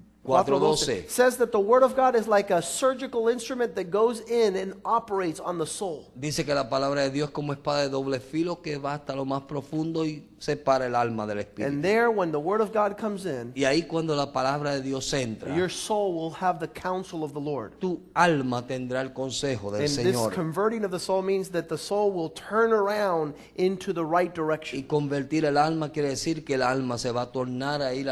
4:12. says that the word of God is like a surgical instrument that goes in and operates on the soul. Dice que la palabra de Dios es como espada de doble filo que va hasta lo más profundo y separa el alma del espíritu. And there, when the word of God comes in, Y ahí cuando la palabra de Dios entra, your soul will have the counsel of the Lord. tu alma tendrá el consejo del And this Señor. converting of the soul means that the soul will turn around into the right Y direction. convertir el alma quiere decir que el alma se va a tornar a ir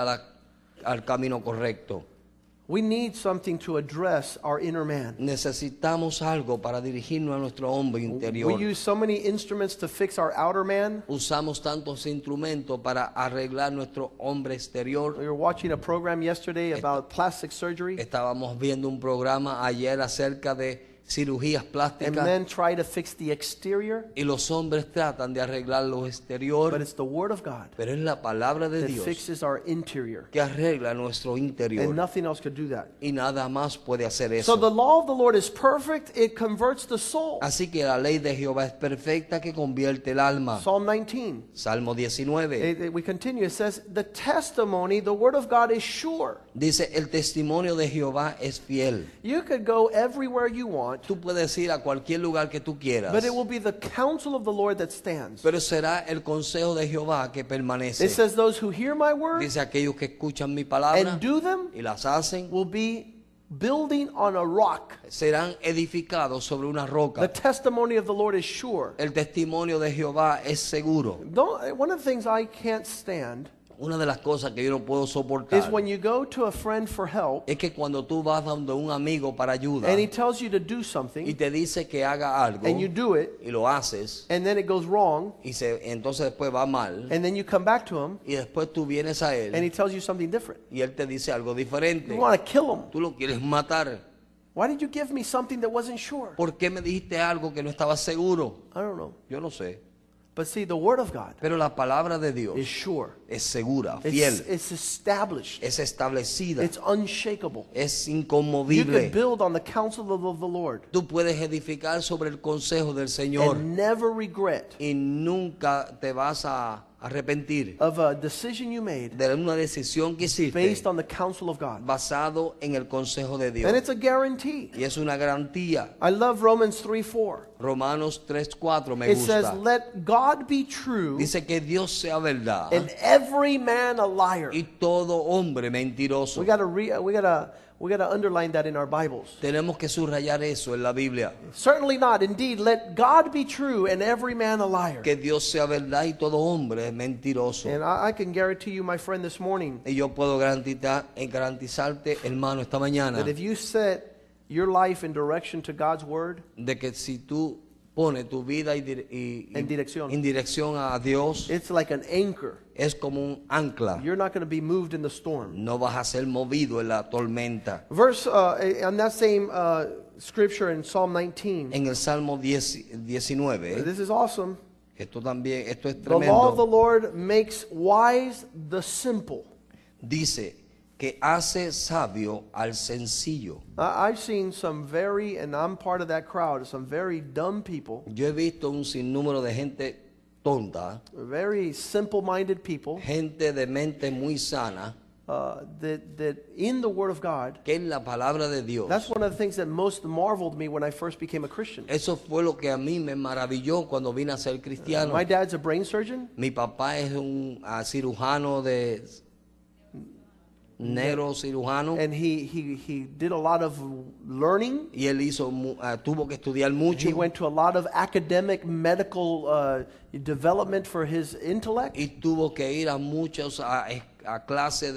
al camino correcto. We need something to address our inner man. Necesitamos algo para dirigirnos a nuestro hombre We interior. use so many instruments to fix our outer man. Usamos tantos instrumentos para arreglar nuestro hombre exterior. We were watching a program yesterday about plastic surgery, Estábamos viendo un programa ayer acerca de cirugías and plásticas men try to fix the exterior, y los hombres tratan de arreglar lo but exterior, it's the word of God pero es la palabra de that Dios fixes our interior, que arregla nuestro and interior nothing else could do that. y nada más puede hacer So the eso. law of the Lord is perfect, it converts the soul. Así que la ley de Jehová es perfecta que convierte el alma. Psalm 19. Salmo 19 We continue. It says, the testimony, the word of God is sure. dice, el testimonio de Jehová es fiel. You could go everywhere you want, Tú puedes ir a cualquier lugar que tú quieras, but it will be the counsel of the Lord that stands. pero será el consejo de Jehová que It permanece. says, those who hear my word Dice, aquellos que escuchan mi palabra and do them y las hacen, will be building on a rock. serán edificados sobre una The roca. testimony of the Lord is sure. El testimonio de Jehová es seguro. One of the things I can't stand Una de las cosas que yo no puedo is soportar when you go to a friend for help es que cuando tú vas donde un amigo para ayuda and he tells you to do y something te dice que haga algo and you do it y lo haces and then it goes wrong y entonces después va mal and then you come back to him y después tú vienes a and él he tells you something different. y él te dice algo diferente. You want to kill him. Tú lo quieres matar. Why did you give me something that wasn't sure? ¿Por qué me dijiste algo que no estaba seguro? I don't know. Yo no sé. But see, the word of God Pero la palabra de Dios is sure. es segura, fiel, It's established. es establecida, It's unshakable. es You inconmovible. could build on the counsel of the Lord Tú puedes edificar sobre el consejo del Señor and never regret y nunca te vas a arrepentir of a decision you made de una decisión que hiciste based on the counsel of God. basado en el consejo de Dios. And it's a guarantee. Y es una garantía. I love Romans 3:4. Romanos 3:4 me It says, gusta. let God be true Dice que Dios sea verdad and every man a liar. y todo hombre mentiroso. We gotta underline that in our Bibles. Tenemos que subrayar eso en la Biblia. Certainly not. Indeed, let God be true and every man a liar. Que Dios sea verdad y todo hombre es mentiroso. And I can guarantee you, my friend, this morning, Y yo puedo garantizarte, hermano, esta mañana, that if you set your life in direction to God's word, de que si tú pones tu vida En dirección. en dirección a Dios, it's like an anchor. es como un ancla. You're not going to be moved in the storm. No vas a ser movido en la tormenta. Verse on that same scripture in Psalm 19. En el Salmo 19, This is awesome. esto es The law of the tremendo, Lord makes wise the simple. dice que hace sabio al sencillo. I've seen some and I'm part of that crowd, some very dumb people, Yo he visto un sinnúmero de gente tonta, very simple-minded people, gente de mente muy sana, that in the Word of God, que en la palabra de Dios. that's one of the things that most marveled me when I first became a Christian. Eso fue lo que a mí me maravilló cuando vine a ser cristiano. My dad's a brain surgeon, Mi papá es un cirujano de neurocirujano and he did a lot of learning. y él tuvo que estudiar mucho He went to a lot of academic medical development for his intellect. y tuvo que ir a muchos a clases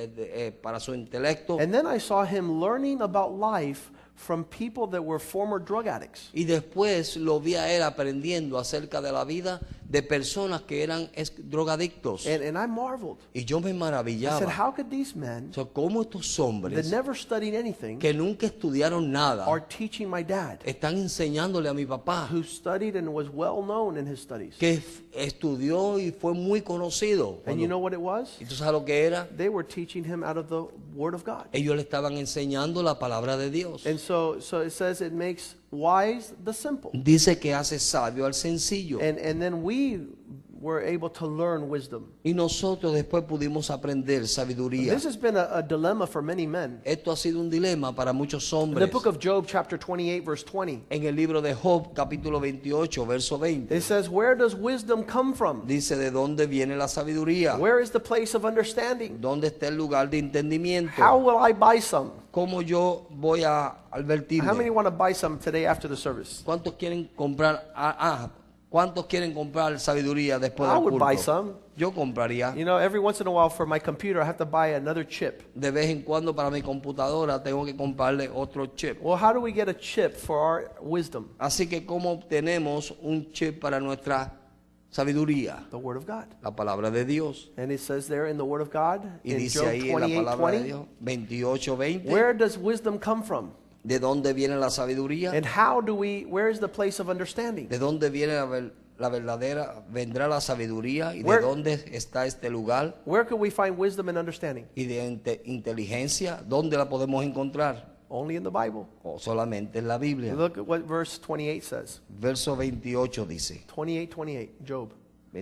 para su intelecto. And then I saw him learning about life from people that were former drug addicts. Y después lo vi a él aprendiendo acerca de la vida de personas que eran drogadictos. And I marveled. Y yo me I said, maravillaba. how could these men O sea, cómo estos that hombres never studied anything que nunca estudiaron nada are teaching my dad, están enseñándole a mi papá, who studied and was well known in his studies. que estudió y fue muy conocido. And you know what it was? ¿Y tú sabes lo que era? They were teaching him out of the Word of God. Ellos le estaban enseñando la palabra de Dios. And so it says it makes wise the simple. Dice que hace sabio al sencillo. And then we were able to learn wisdom. Y nosotros después pudimos aprender sabiduría. This has been a dilemma for many men. Esto ha sido un dilema para muchos In the hombres. book of Job, chapter 28, verse 20, En el libro de Job, capítulo 28, verso 20, it says, where does wisdom come from? dice de dónde viene la sabiduría, Where is the place of understanding? dónde está el lugar de How entendimiento, will I buy some? cómo yo voy a How many advertirme. want to buy some today after the service? ¿Cuántos quieren comprar? ¿Cuántos quieren comprar sabiduría después I del would buy culto? some. Yo compraría. You know, every once in a while for my computer, I have to buy another chip. De vez en cuando para mi computadora tengo que comprarle otro chip. Well, how do we get a chip for our wisdom? Así que ¿cómo obtenemos un chip para nuestra sabiduría? The Word of God. La palabra de Dios. And it says there in the Word of God, Y in dice Job ahí en la palabra de 28:20, Dios, 28:20, where does wisdom come from? ¿de dónde viene la sabiduría? And where is the place of understanding? ¿De dónde viene la verdadera, vendrá la sabiduría? ¿Y de Where- dónde está este lugar? Where can we find wisdom and understanding? ¿Y de inteligencia? ¿Dónde la podemos encontrar? Only in the Bible. O solamente en la Biblia. Look at what verse 28 says. Verso 28 dice, 28:28, Job.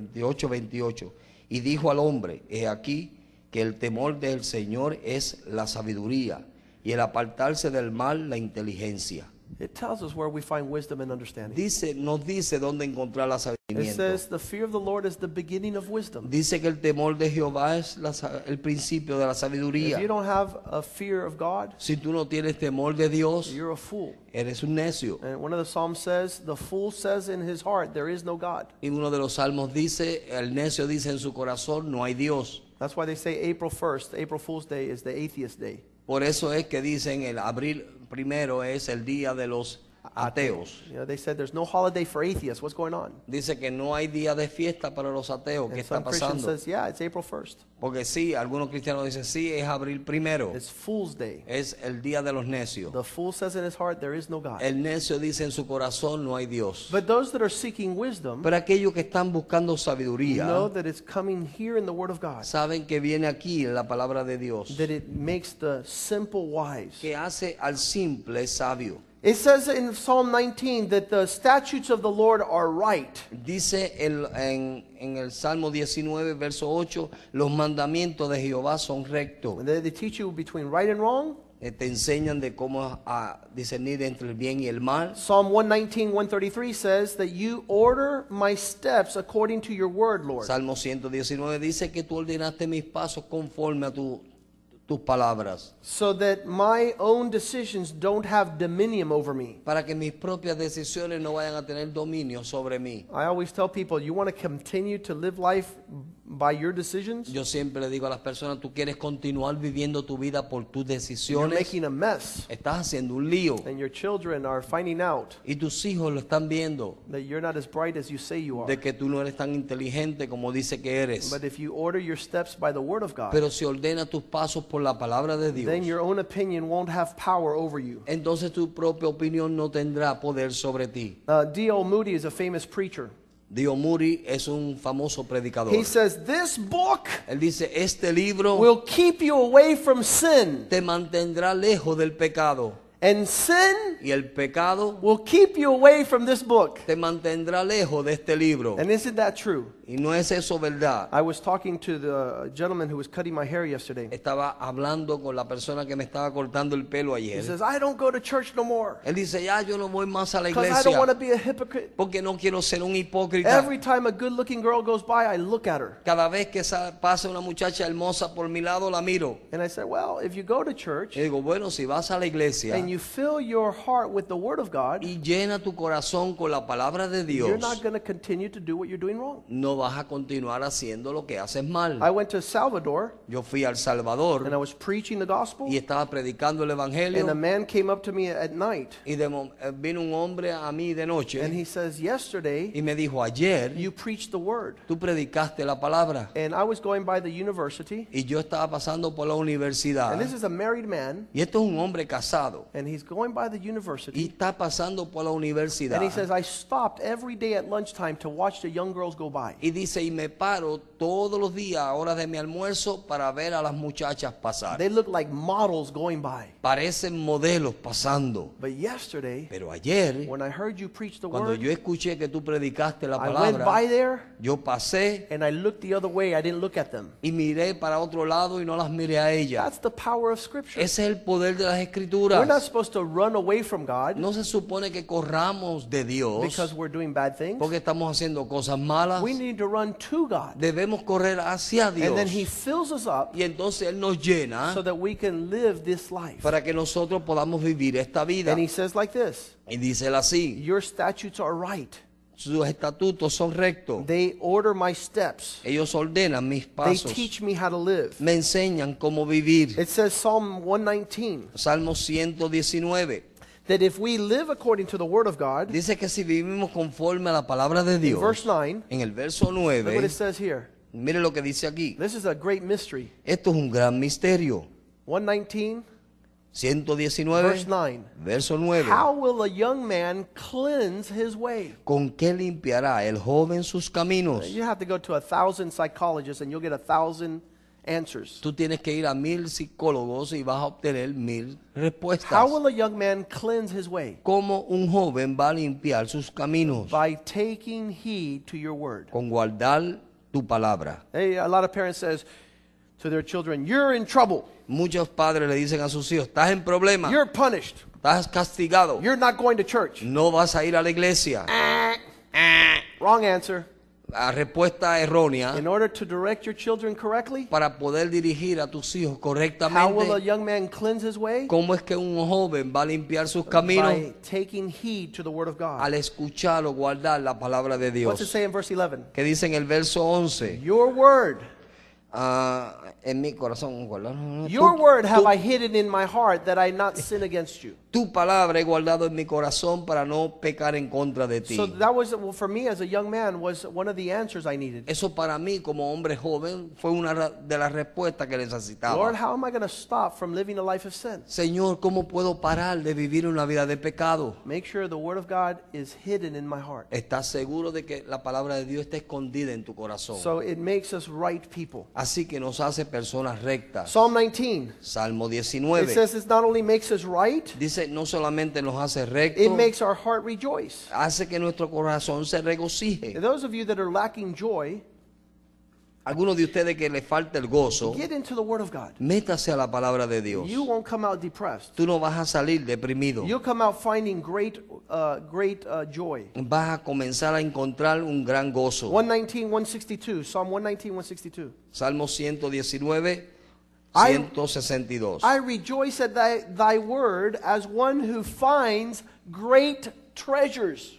28. Y dijo al hombre, he aquí que el temor del Señor es la sabiduría, y el apartarse del mal la inteligencia. It tells us where we find wisdom and understanding. Nos dice dónde encontrar la It sabiduría. says the fear of the Lord is the beginning of wisdom. Dice que el temor de Jehová es el principio de la If sabiduría. you don't have a fear of God, Si tú no tienes temor de Dios, you're a fool. eres un necio. And one of the Psalms says, the fool says in his heart, there is no God. Y uno de los salmos dice, el necio dice en su corazón, no hay Dios. That's why they say April 1st, April Fool's Day, is the atheist day. Por eso es que dicen el abril primero es el día de los ateos. You know, they said there's no holiday for atheists. What's going on? Dice que no hay día de fiesta para los ateos. ¿Qué And está some Christian pasando? says, yeah, it's April 1st. Porque sí, algunos cristianos dicen, sí, es abril primero. It's Fool's Day. Es el día de los necios. The fool says in his heart, there is no God. El necio dice en su corazón, no hay Dios. But those that are seeking wisdom Pero aquellos que están buscando sabiduría, know that it's coming here in the Word of God, saben que viene aquí en la palabra de Dios, that it makes the simple wise. que hace al simple sabio. It says in Psalm 19 that the statutes of the Lord are right. Dice en el Salmo 19, verso 8, los mandamientos de Jehová son rectos. And they teach you between right and wrong. te enseñan de cómo a discernir entre el bien y el mal. Psalm 119, 133 says that you order my steps according to your word, Lord. Salmo 119 dice que tú ordenaste mis pasos conforme a tus palabras, So that my own decisions don't have dominion over me. para que mis propias decisiones no vayan a tener dominio sobre mí. I always tell people, you want to continue to live life by your decisions? Yo siempre le digo a las personas, tú quieres continuar viviendo tu vida por tus You're decisiones, making a mess. estás haciendo un lío And your children are finding out y tus hijos lo están viendo, that you're not as bright as you say you are. de que tú no eres tan inteligente como dice que eres. But if you order your steps by the word of God, Pero si ordenas tus pasos por la palabra de Dios, then your own opinion won't have power over you. entonces tu propia opinión no tendrá poder sobre ti. D.L. Moody is a famous preacher. Dio Muri es un famoso predicador. He says, this book Él dice, este libro will keep you away from sin, te mantendrá lejos del pecado. and sin Y el pecado will keep you away from this book. te mantendrá lejos de este libro. And isn't that true? Y no es eso verdad. I was talking to the gentleman who was cutting my hair yesterday. Estaba hablando con la persona que me estaba cortando el pelo He ayer. says, I don't go to church no more Él dice, ya yo no voy más a la because I don't want to iglesia be a hypocrite. porque no quiero ser un hipócrita. Every time a good looking girl goes by, I look at her. Cada vez que pasa una muchacha hermosa por mi lado, la miro. And I said, well, if you go to church Y digo, bueno, si vas a la iglesia and you fill your heart with the word of God, y llena tu corazón con la palabra de you're Dios, not going to continue to do what you're doing wrong. no vas a continuar haciendo lo que haces mal. I went to Salvador Yo fui a El and I Salvador was preaching the gospel, y estaba predicando el and a evangelio man came up to me at night y vino un hombre a mí de and noche he says, yesterday y me dijo, ayer you preached the word. tú predicaste la palabra. And I was going by the university, Y yo estaba pasando por la universidad. and this is a married man, Y esto es un hombre casado. and he's going by the Y university, está pasando por la universidad. and he says, I stopped every day at lunchtime to watch the young girls go by. Y dice, y me paro todos los días a hora de mi almuerzo para ver a las muchachas pasar. They look like models going by. Parecen modelos pasando. But yesterday, Pero ayer, when I heard you preach the cuando word, yo escuché que tú predicaste la I went by palabra, there yo pasé and I looked the other way. I didn't look at them. y miré para otro lado y no las miré a ellas. That's the power of Scripture. Ese es el poder de las We're not escrituras. supposed to run away from God No se supone que corramos de Dios because we're doing bad things. porque estamos haciendo cosas malas. We need to run to God. Debemos correr hacia And then Dios. He fills us up Y entonces Él nos llena so that we can live this life. para que nosotros podamos vivir esta vida. And He says like this, Y dice él así, your statutes are right. sus estatutos son rectos. They order my steps. Ellos ordenan mis They pasos. teach me how to live. Me enseñan cómo vivir. It says Psalm 119 Salmo 119. that if we live according to the Word of God, Dice que si vivimos conforme a la palabra de in Dios, verse 9, en el verso look what 9, it says here. mire lo que dice aquí. This is a great mystery. Esto es un gran misterio. 119, 119, verse 9. verso 9. How will a young man cleanse his way? ¿Con qué limpiará el joven sus caminos? You have to go to 1,000 psychologists and you'll get 1,000 answers. Tú tienes que ir a 1000 psicólogos y vas a obtener 1000 respuestas. How will a young man cleanse his way? ¿Cómo un joven va a limpiar sus caminos? By taking heed to your word. Con guardar tu palabra. Hey, a lot of parents says to their children, you're in trouble. Muchos padres le dicen a sus hijos, estás en problema, You're punished. estás castigado, You're not going to church. no vas a ir a la iglesia. Wrong answer. La respuesta errónea. In order to direct your children correctly, Para poder dirigir a tus hijos how will a correctamente, young man cleanse his way? ¿cómo es que un joven va a limpiar sus caminos? By taking heed to the word of God. Al escuchar o guardar la palabra de What's it Dios. say in verse 11? Que dice en el verso 11, Your word. en mi corazón guardar. Your word have I hidden in my heart that I not sin against you. Tu palabra he guardado en mi corazón para no pecar en contra de ti. So that was, well, for me as a young man, was one of the answers I needed. Eso para mí como hombre joven fue una de las respuestas que Lord, necesitaba. how am I going to stop from living a life of sin? Señor, ¿cómo puedo parar de vivir una vida de pecado? Make sure the word of God is hidden in my heart. ¿Estás seguro de que la palabra de Dios está escondida en tu corazón? So it makes us right people. Así que nos hace personas rectas. Psalm 19. Salmo It 19 says it not only makes us right, dice, no solamente nos hace it rectos, makes our heart rejoice. hace que nuestro corazón se regocije. And those of you that are lacking joy, algunos de ustedes que les falta el gozo, Get into the Word of God. métase a la palabra de Dios. You won't come out depressed. Tú no vas a salir deprimido. You'll come out finding great joy. Vas a comenzar a encontrar un gran gozo. 119, 162. Psalm 119, 162. Salmo 119, I- 162. I rejoice at thy word as one who finds great treasures.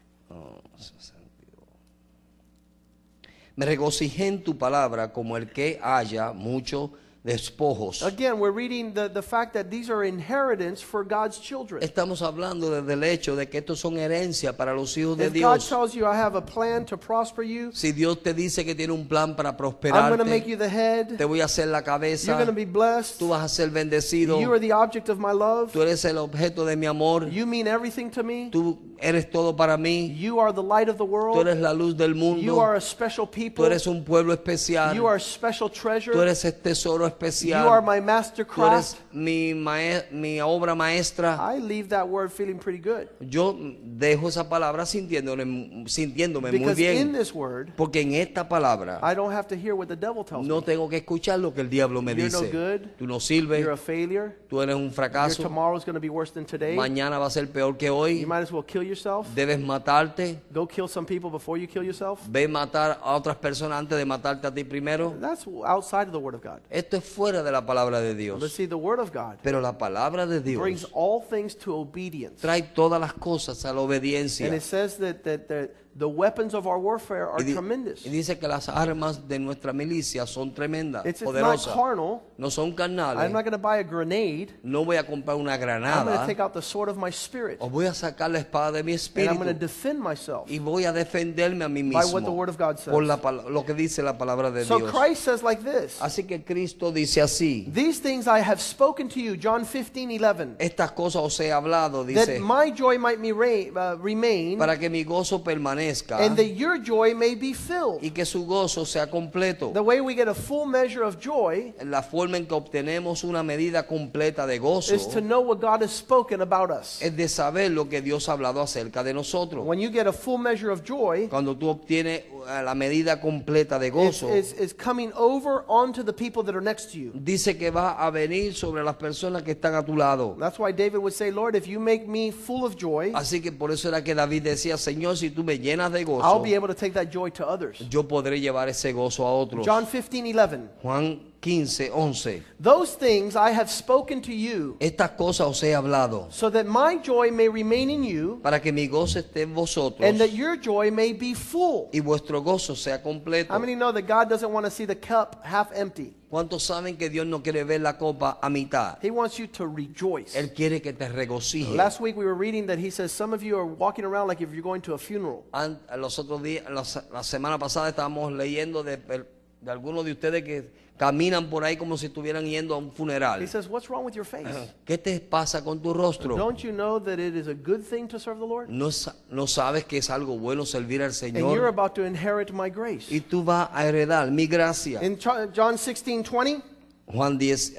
Me regocijé en tu palabra como el que haya muchos despojos. Again, we're reading the fact that these are inheritance for God's children. Estamos hablando desde el hecho de que estos son herencias para los hijos de If God Dios. tells you, I have a plan to prosper you, Si Dios te dice que tiene un plan para I'm going to make prosperarte, you the head, te voy a hacer la you're cabeza, going to be blessed, tú vas a ser bendecido, you are the object of my love, tú eres el objeto de mi amor, you mean everything to me, tú eres todo para mí, you are the light of the tú world, eres la luz del you are mundo, a special tú people, eres un pueblo especial, you are a special tú treasure, eres el tesoro you are especial, my master tú eres craft. mi obra maestra. I leave that word feeling pretty good. Yo dejo esa palabra sintiéndome muy Because in bien, this word, porque en esta palabra I don't have to hear what the devil tells no me. tengo que escuchar lo que el diablo me You're no dice. good. Tú no sirves, You're a failure. tú eres un Your fracaso, tomorrow is going to be worse than today. mañana va a ser peor que You hoy, might as well kill yourself. debes matarte, Go kill some people before you kill yourself. ve matar a otras personas antes de matarte a ti primero. That's outside of the Word of God. Esto es fuera de la palabra de Let's Dios, see, the Word of God pero la palabra de brings Dios all things to obedience. trae todas las cosas a la And obediencia. it says that the weapons of our warfare are tremendous. Y dice que las armas de nuestra milicia son tremendas, It's not poderosas, carnal. no son I'm carnales. not going to buy a grenade. No voy a comprar una I'm going to granada, take out the sword of my spirit. o voy a sacar la espada de mi And I'm going to espíritu defend myself y voy a defenderme a mí by what the mismo Word of God por says. lo que dice la palabra de So Dios. Christ says like this. Así que Cristo dice así: These things I have spoken to you, John 15:11, estas cosas os he hablado, that dice, my joy might remain, para que mi gozo permanezca and that your joy may be filled. y que su gozo sea completo. The way we get a full measure of joy La forma en que obtenemos una medida completa de gozo is to know what God has spoken about us. es de saber lo que Dios ha hablado acerca de nosotros. When you get a full measure of joy, Cuando tú obtienes la medida completa de gozo, it's coming over onto the people that are next to you. dice que va a venir sobre las personas que están a tu lado. That's why David would say, Lord, if you make me full of joy, Así que por eso era que David decía: Señor, si tú me llenas de I'll gozo, be able to take that joy to others. yo podré llevar ese gozo a otros. John 15:11. Juan 15, 11. Those things I have spoken to you, Estas cosas os he hablado so that my joy may remain in you, para que mi gozo esté en vosotros and that your joy may be full. y vuestro gozo sea completo. How many know that God doesn't want to see the cup half empty? ¿Cuántos saben que Dios no quiere ver la copa a mitad? He wants you to rejoice. Él quiere que te regocijes. Last week we were reading that he says some of you are walking around like if you're going to a funeral. Los otros días, la semana pasada estábamos leyendo de algunos de ustedes que caminan por ahí como si estuvieran yendo a un He funeral. says, what's wrong with your face? ¿Qué te pasa con tu rostro? Don't you know that it is a good thing to serve the Lord? No sabes que es algo bueno servir al And you're Señor. about to inherit my grace. Y tú vas a heredar mi gracia. In John 16:20, Juan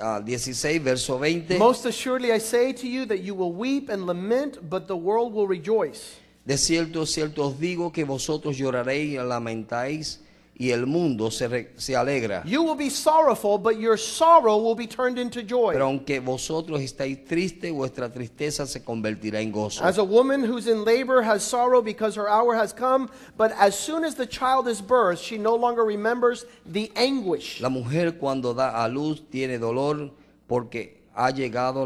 16, verso 20. most assuredly I say to you that you will weep and lament, but the world will rejoice. De cierto os digo que vosotros lloraréis y lamentáis, y el mundo se alegra. You will be sorrowful, but your sorrow will be turned into joy. Pero aunque vosotros estáis tristes, vuestra tristeza se convertirá en gozo. As a woman who's in labor has sorrow because her hour has come, but as soon as the child is birthed, she no longer remembers the anguish. La mujer cuando da a luz tiene dolor porque ha llegado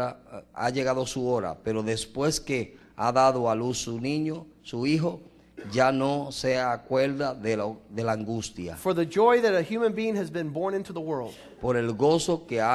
su hora, pero después que ha dado a luz su niño, su hijo, ya no se acuerda de la angustia, For the joy that a human being has been born into the world. por el gozo que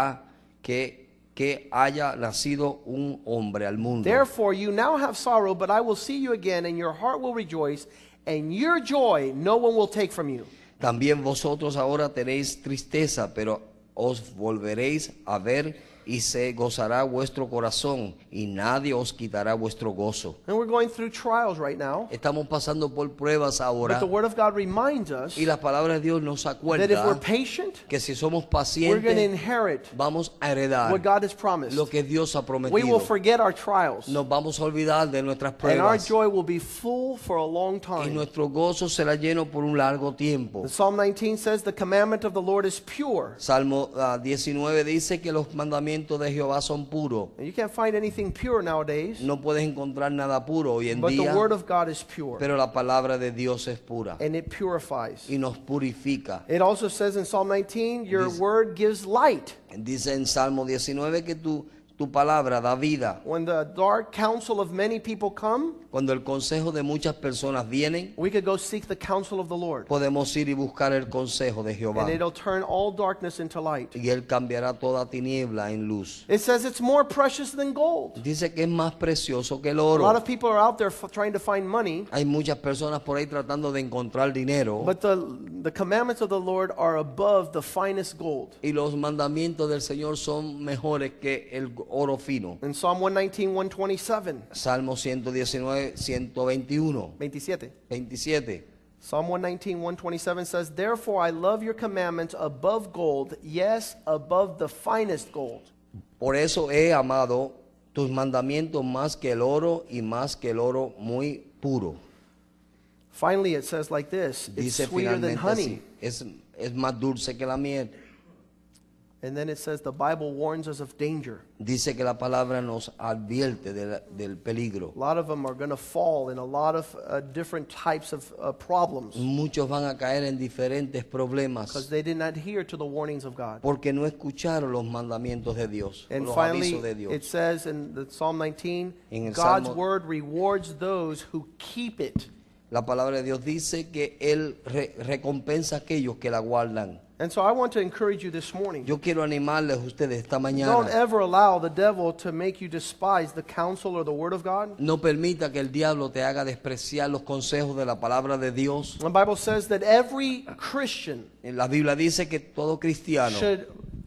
haya nacido un hombre al mundo. Therefore you now have sorrow, but I will see you again, and your heart will rejoice, and your joy no one will take from you. También vosotros ahora tenéis tristeza, pero os volveréis a ver y se gozará vuestro corazón, y nadie os quitará vuestro gozo. And we're going through trials right now. Estamos pasando por pruebas But ahora, the Word of God reminds us y la palabra de Dios nos that if we're acuerda patient, que si somos we're going to pacientes, inherit vamos a heredar what God has promised. lo que Dios ha We will prometido. forget our trials, Nos vamos a olvidar de nuestras and our pruebas, joy will be full for a long y time. nuestro gozo será lleno por un largo tiempo. The Psalm 19 says, the commandment of the Lord is pure. Salmo 19 dice que los mandamientos de Jehová son puros. And you can't find anything pure nowadays, No puedes encontrar nada puro hoy en but the día, Word of God is pure, pero la palabra de Dios es pura and it purifies. y nos purifica. It also says in Psalm 19, your Dice- Word gives light. Dice en Salmo 19 que tu palabra da vida. When the dark counsel of many people come, Cuando el consejo de muchas personas vienen, we could go seek the counsel of the Lord, podemos ir y buscar el consejo de Jehová, and it'll turn all darkness into light. y Él cambiará toda tiniebla en luz. It says it's more precious than gold. Dice que es más precioso que el A lot oro. of people are out there trying to find money, Hay muchas personas por ahí tratando de encontrar dinero, but the commandments of the Lord are above the finest gold. y los mandamientos del Señor son mejores que el oro fino. In Psalm 119, 127, Salmo 119, 121, 27. 27. Psalm 119, 127 says, therefore I love your commandments above gold, yes, above the finest gold. Por eso he amado tus mandamientos más que el oro y más que el oro muy puro. Finally, it says like this, it's Dice sweeter than finalmente honey. así, es más dulce que la miel. And then it says the Bible warns us of danger. Dice que la palabra nos advierte del peligro. A lot of them are going to fall in a lot of different types of problems Muchos van a caer en diferentes problemas because they didn't adhere to the warnings of God. porque no escucharon los mandamientos de Dios, And los finally, avisos de Dios. it says in the Psalm 19, En el God's Salmo- word rewards those who keep it. La palabra de Dios dice que Él recompensa a aquellos que la guardan. And so I want to encourage you this morning. Yo quiero animarles a ustedes esta Don't mañana. ever allow the devil to make you despise the counsel or the word of God. No permita que el diablo te haga despreciar los consejos de la palabra de Dios. The Bible says that every Christian La Biblia dice que todo cristiano should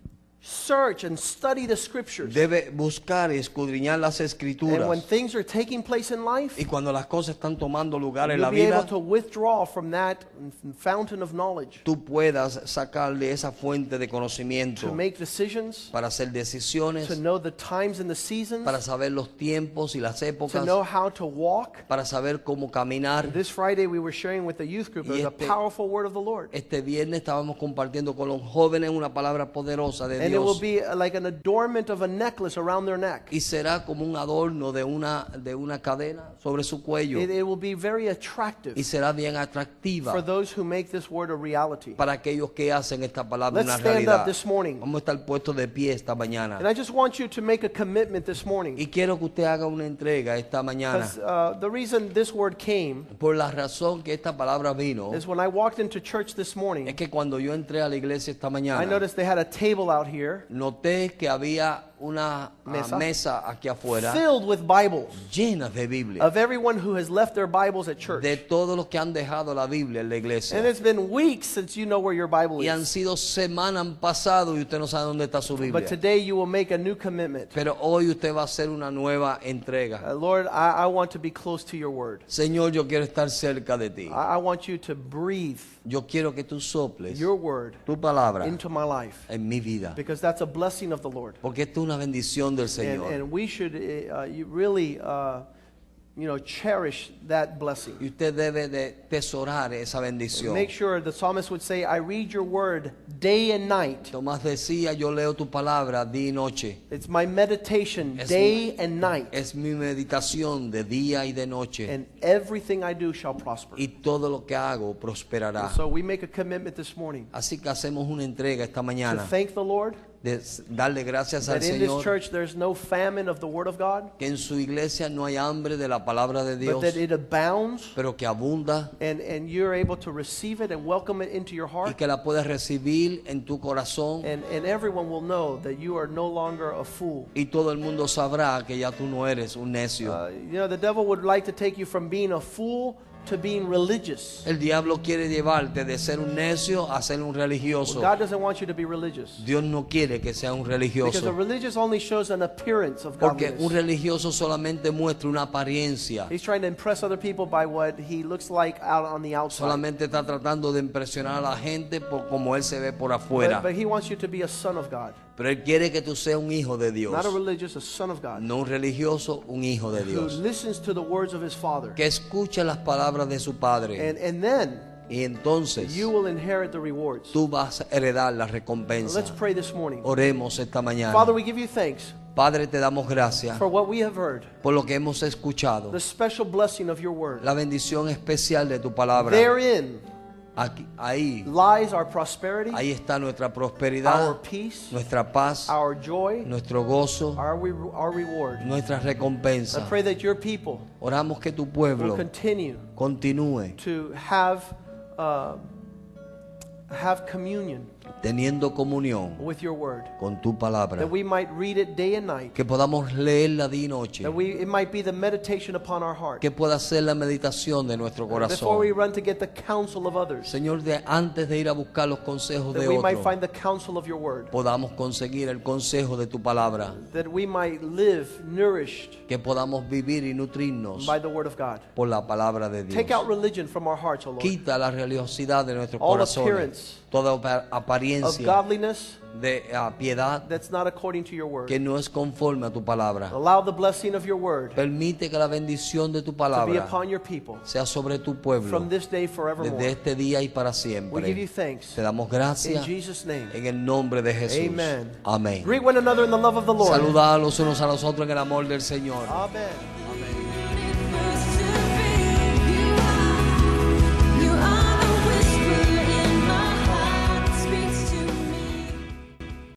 search and study the scriptures. debe buscar y escudriñar las And when escrituras. things are taking place in life, Y cuando las cosas están tomando lugar en you'll la be able vida, to withdraw from that fountain of knowledge tú puedas sacarle esa fuente de to conocimiento make decisions, para hacer decisiones, to know the times and the seasons, para saber los tiempos y las to épocas, know how to walk. para saber cómo caminar. This Friday we were sharing with the youth group. It was a powerful word of the Lord. Este viernes estábamos compartiendo con los jóvenes una palabra poderosa de And it will Dios. be like an adornment of a necklace around their neck. Y será como un adorno de una cadena sobre su cuello. It will be very attractive Y será bien for atractiva those who make this word a reality. para aquellos que hacen esta palabra Let's una stand up realidad. this morning. Vamos a estar puestos de pie esta mañana. And I just want you to make a commitment this morning. Y quiero que usted haga una entrega esta mañana. Because the reason this word came Por la razón que esta palabra vino, is when I walked into church this es morning, que cuando yo entré a la iglesia esta I mañana, noticed they had a table out here noté que había una Mesa. mesa aquí afuera filled with Bibles llena de Biblia. of everyone who has left their Bibles at church. De todos los que han dejado la Biblia en la And iglesia. it's been weeks since you know where your Bible Y han is. sido semanas han pasado y usted no sabe dónde está su But Biblia. today you will make a new commitment. Pero hoy usted va a hacer una nueva entrega. Lord, I want to be close to your word. Señor, yo quiero estar cerca de ti. I want you to breathe Yo quiero que tú soples your word tu palabra into my life. en mi vida. Because that's a blessing of the Lord. Porque esto es una bendición del Señor. And we should you really cherish that blessing. Y usted debe de tesorar esa bendición. Make sure the psalmist would say, I read your word day and night. Tomás decía, yo leo tu palabra día y noche. It's my meditation Es day and night. Es mi meditación de día y de noche. And everything I do shall prosper. Y todo lo que hago prosperará. So we make a commitment this morning Así que hacemos una entrega esta to mañana thank the Lord de darle gracias al that in this Señor church there's no famine of the word of God, que en su iglesia no hay hambre de la palabra de but Dios, that it abounds, pero que abunda and you're able to receive it and welcome it into your y heart. que la puedes recibir en tu corazón, And everyone will know that you are no longer a fool. y todo el mundo sabrá que ya tú no eres un necio. The devil would like to take you from being a fool to being religious. El diablo quiere llevarte de ser un necio a ser un religioso. God doesn't want you to be religious. Dios no quiere que sea un Because a religioso. religious only shows an appearance of Porque un godliness. religioso solamente muestra una apariencia. He's trying to impress other people by what he looks like out on the outside. Solamente está tratando de impresionar a la gente por como él se ve por afuera. But he wants you to be a son of God. Pero él quiere que tú seas un hijo de Dios. Not a religious, a son of God. No un religioso, un hijo de Who Dios. listens to the words of his Father. Que escucha las palabras de su padre. And then Y entonces you will inherit the rewards. tú vas a heredar la recompensa. Let's pray this morning. Oremos esta mañana. Father, we give you thanks Padre, te damos gracias for what we have heard, por lo que hemos escuchado. the special blessing of your word. La bendición especial de tu palabra. Therein Aquí, ahí lies our prosperity, Ahí está nuestra our prosperidad, peace, nuestra paz, our joy, nuestro gozo, our reward. nuestra I recompensa. pray that your people Oramos que tu will pueblo continue continúe to have communion teniendo comunión with your word, con tu palabra. that we might read it day and night, Que podamos leerla día y noche. that it might be the meditation upon our heart. Que pueda ser la meditación de nuestro Before we corazón. run to get the counsel of others, Señor, antes de ir a buscar los consejos that de we might otros, find the counsel of your word, podamos conseguir el consejo de tu palabra. that we might live nourished Que podamos vivir y nutrirnos by the word of God. por la palabra de Take out Dios. religion from our hearts, O Lord, Quita la religiosidad de nuestros all corazones. appearance Toda of apariencia godliness de piedad that's not according to your word. que no es conforme a tu palabra. Allow the blessing of your word Permite que la bendición de tu to be palabra upon your people sea sobre tu pueblo from this day desde forevermore. este día y para We give you siempre. thanks Te damos in gracias Jesus' name. en el nombre de Jesús. Amen. Amén. Greet one another in the love of the Lord. Saludad los unos a los otros en el amor del Señor. Amen.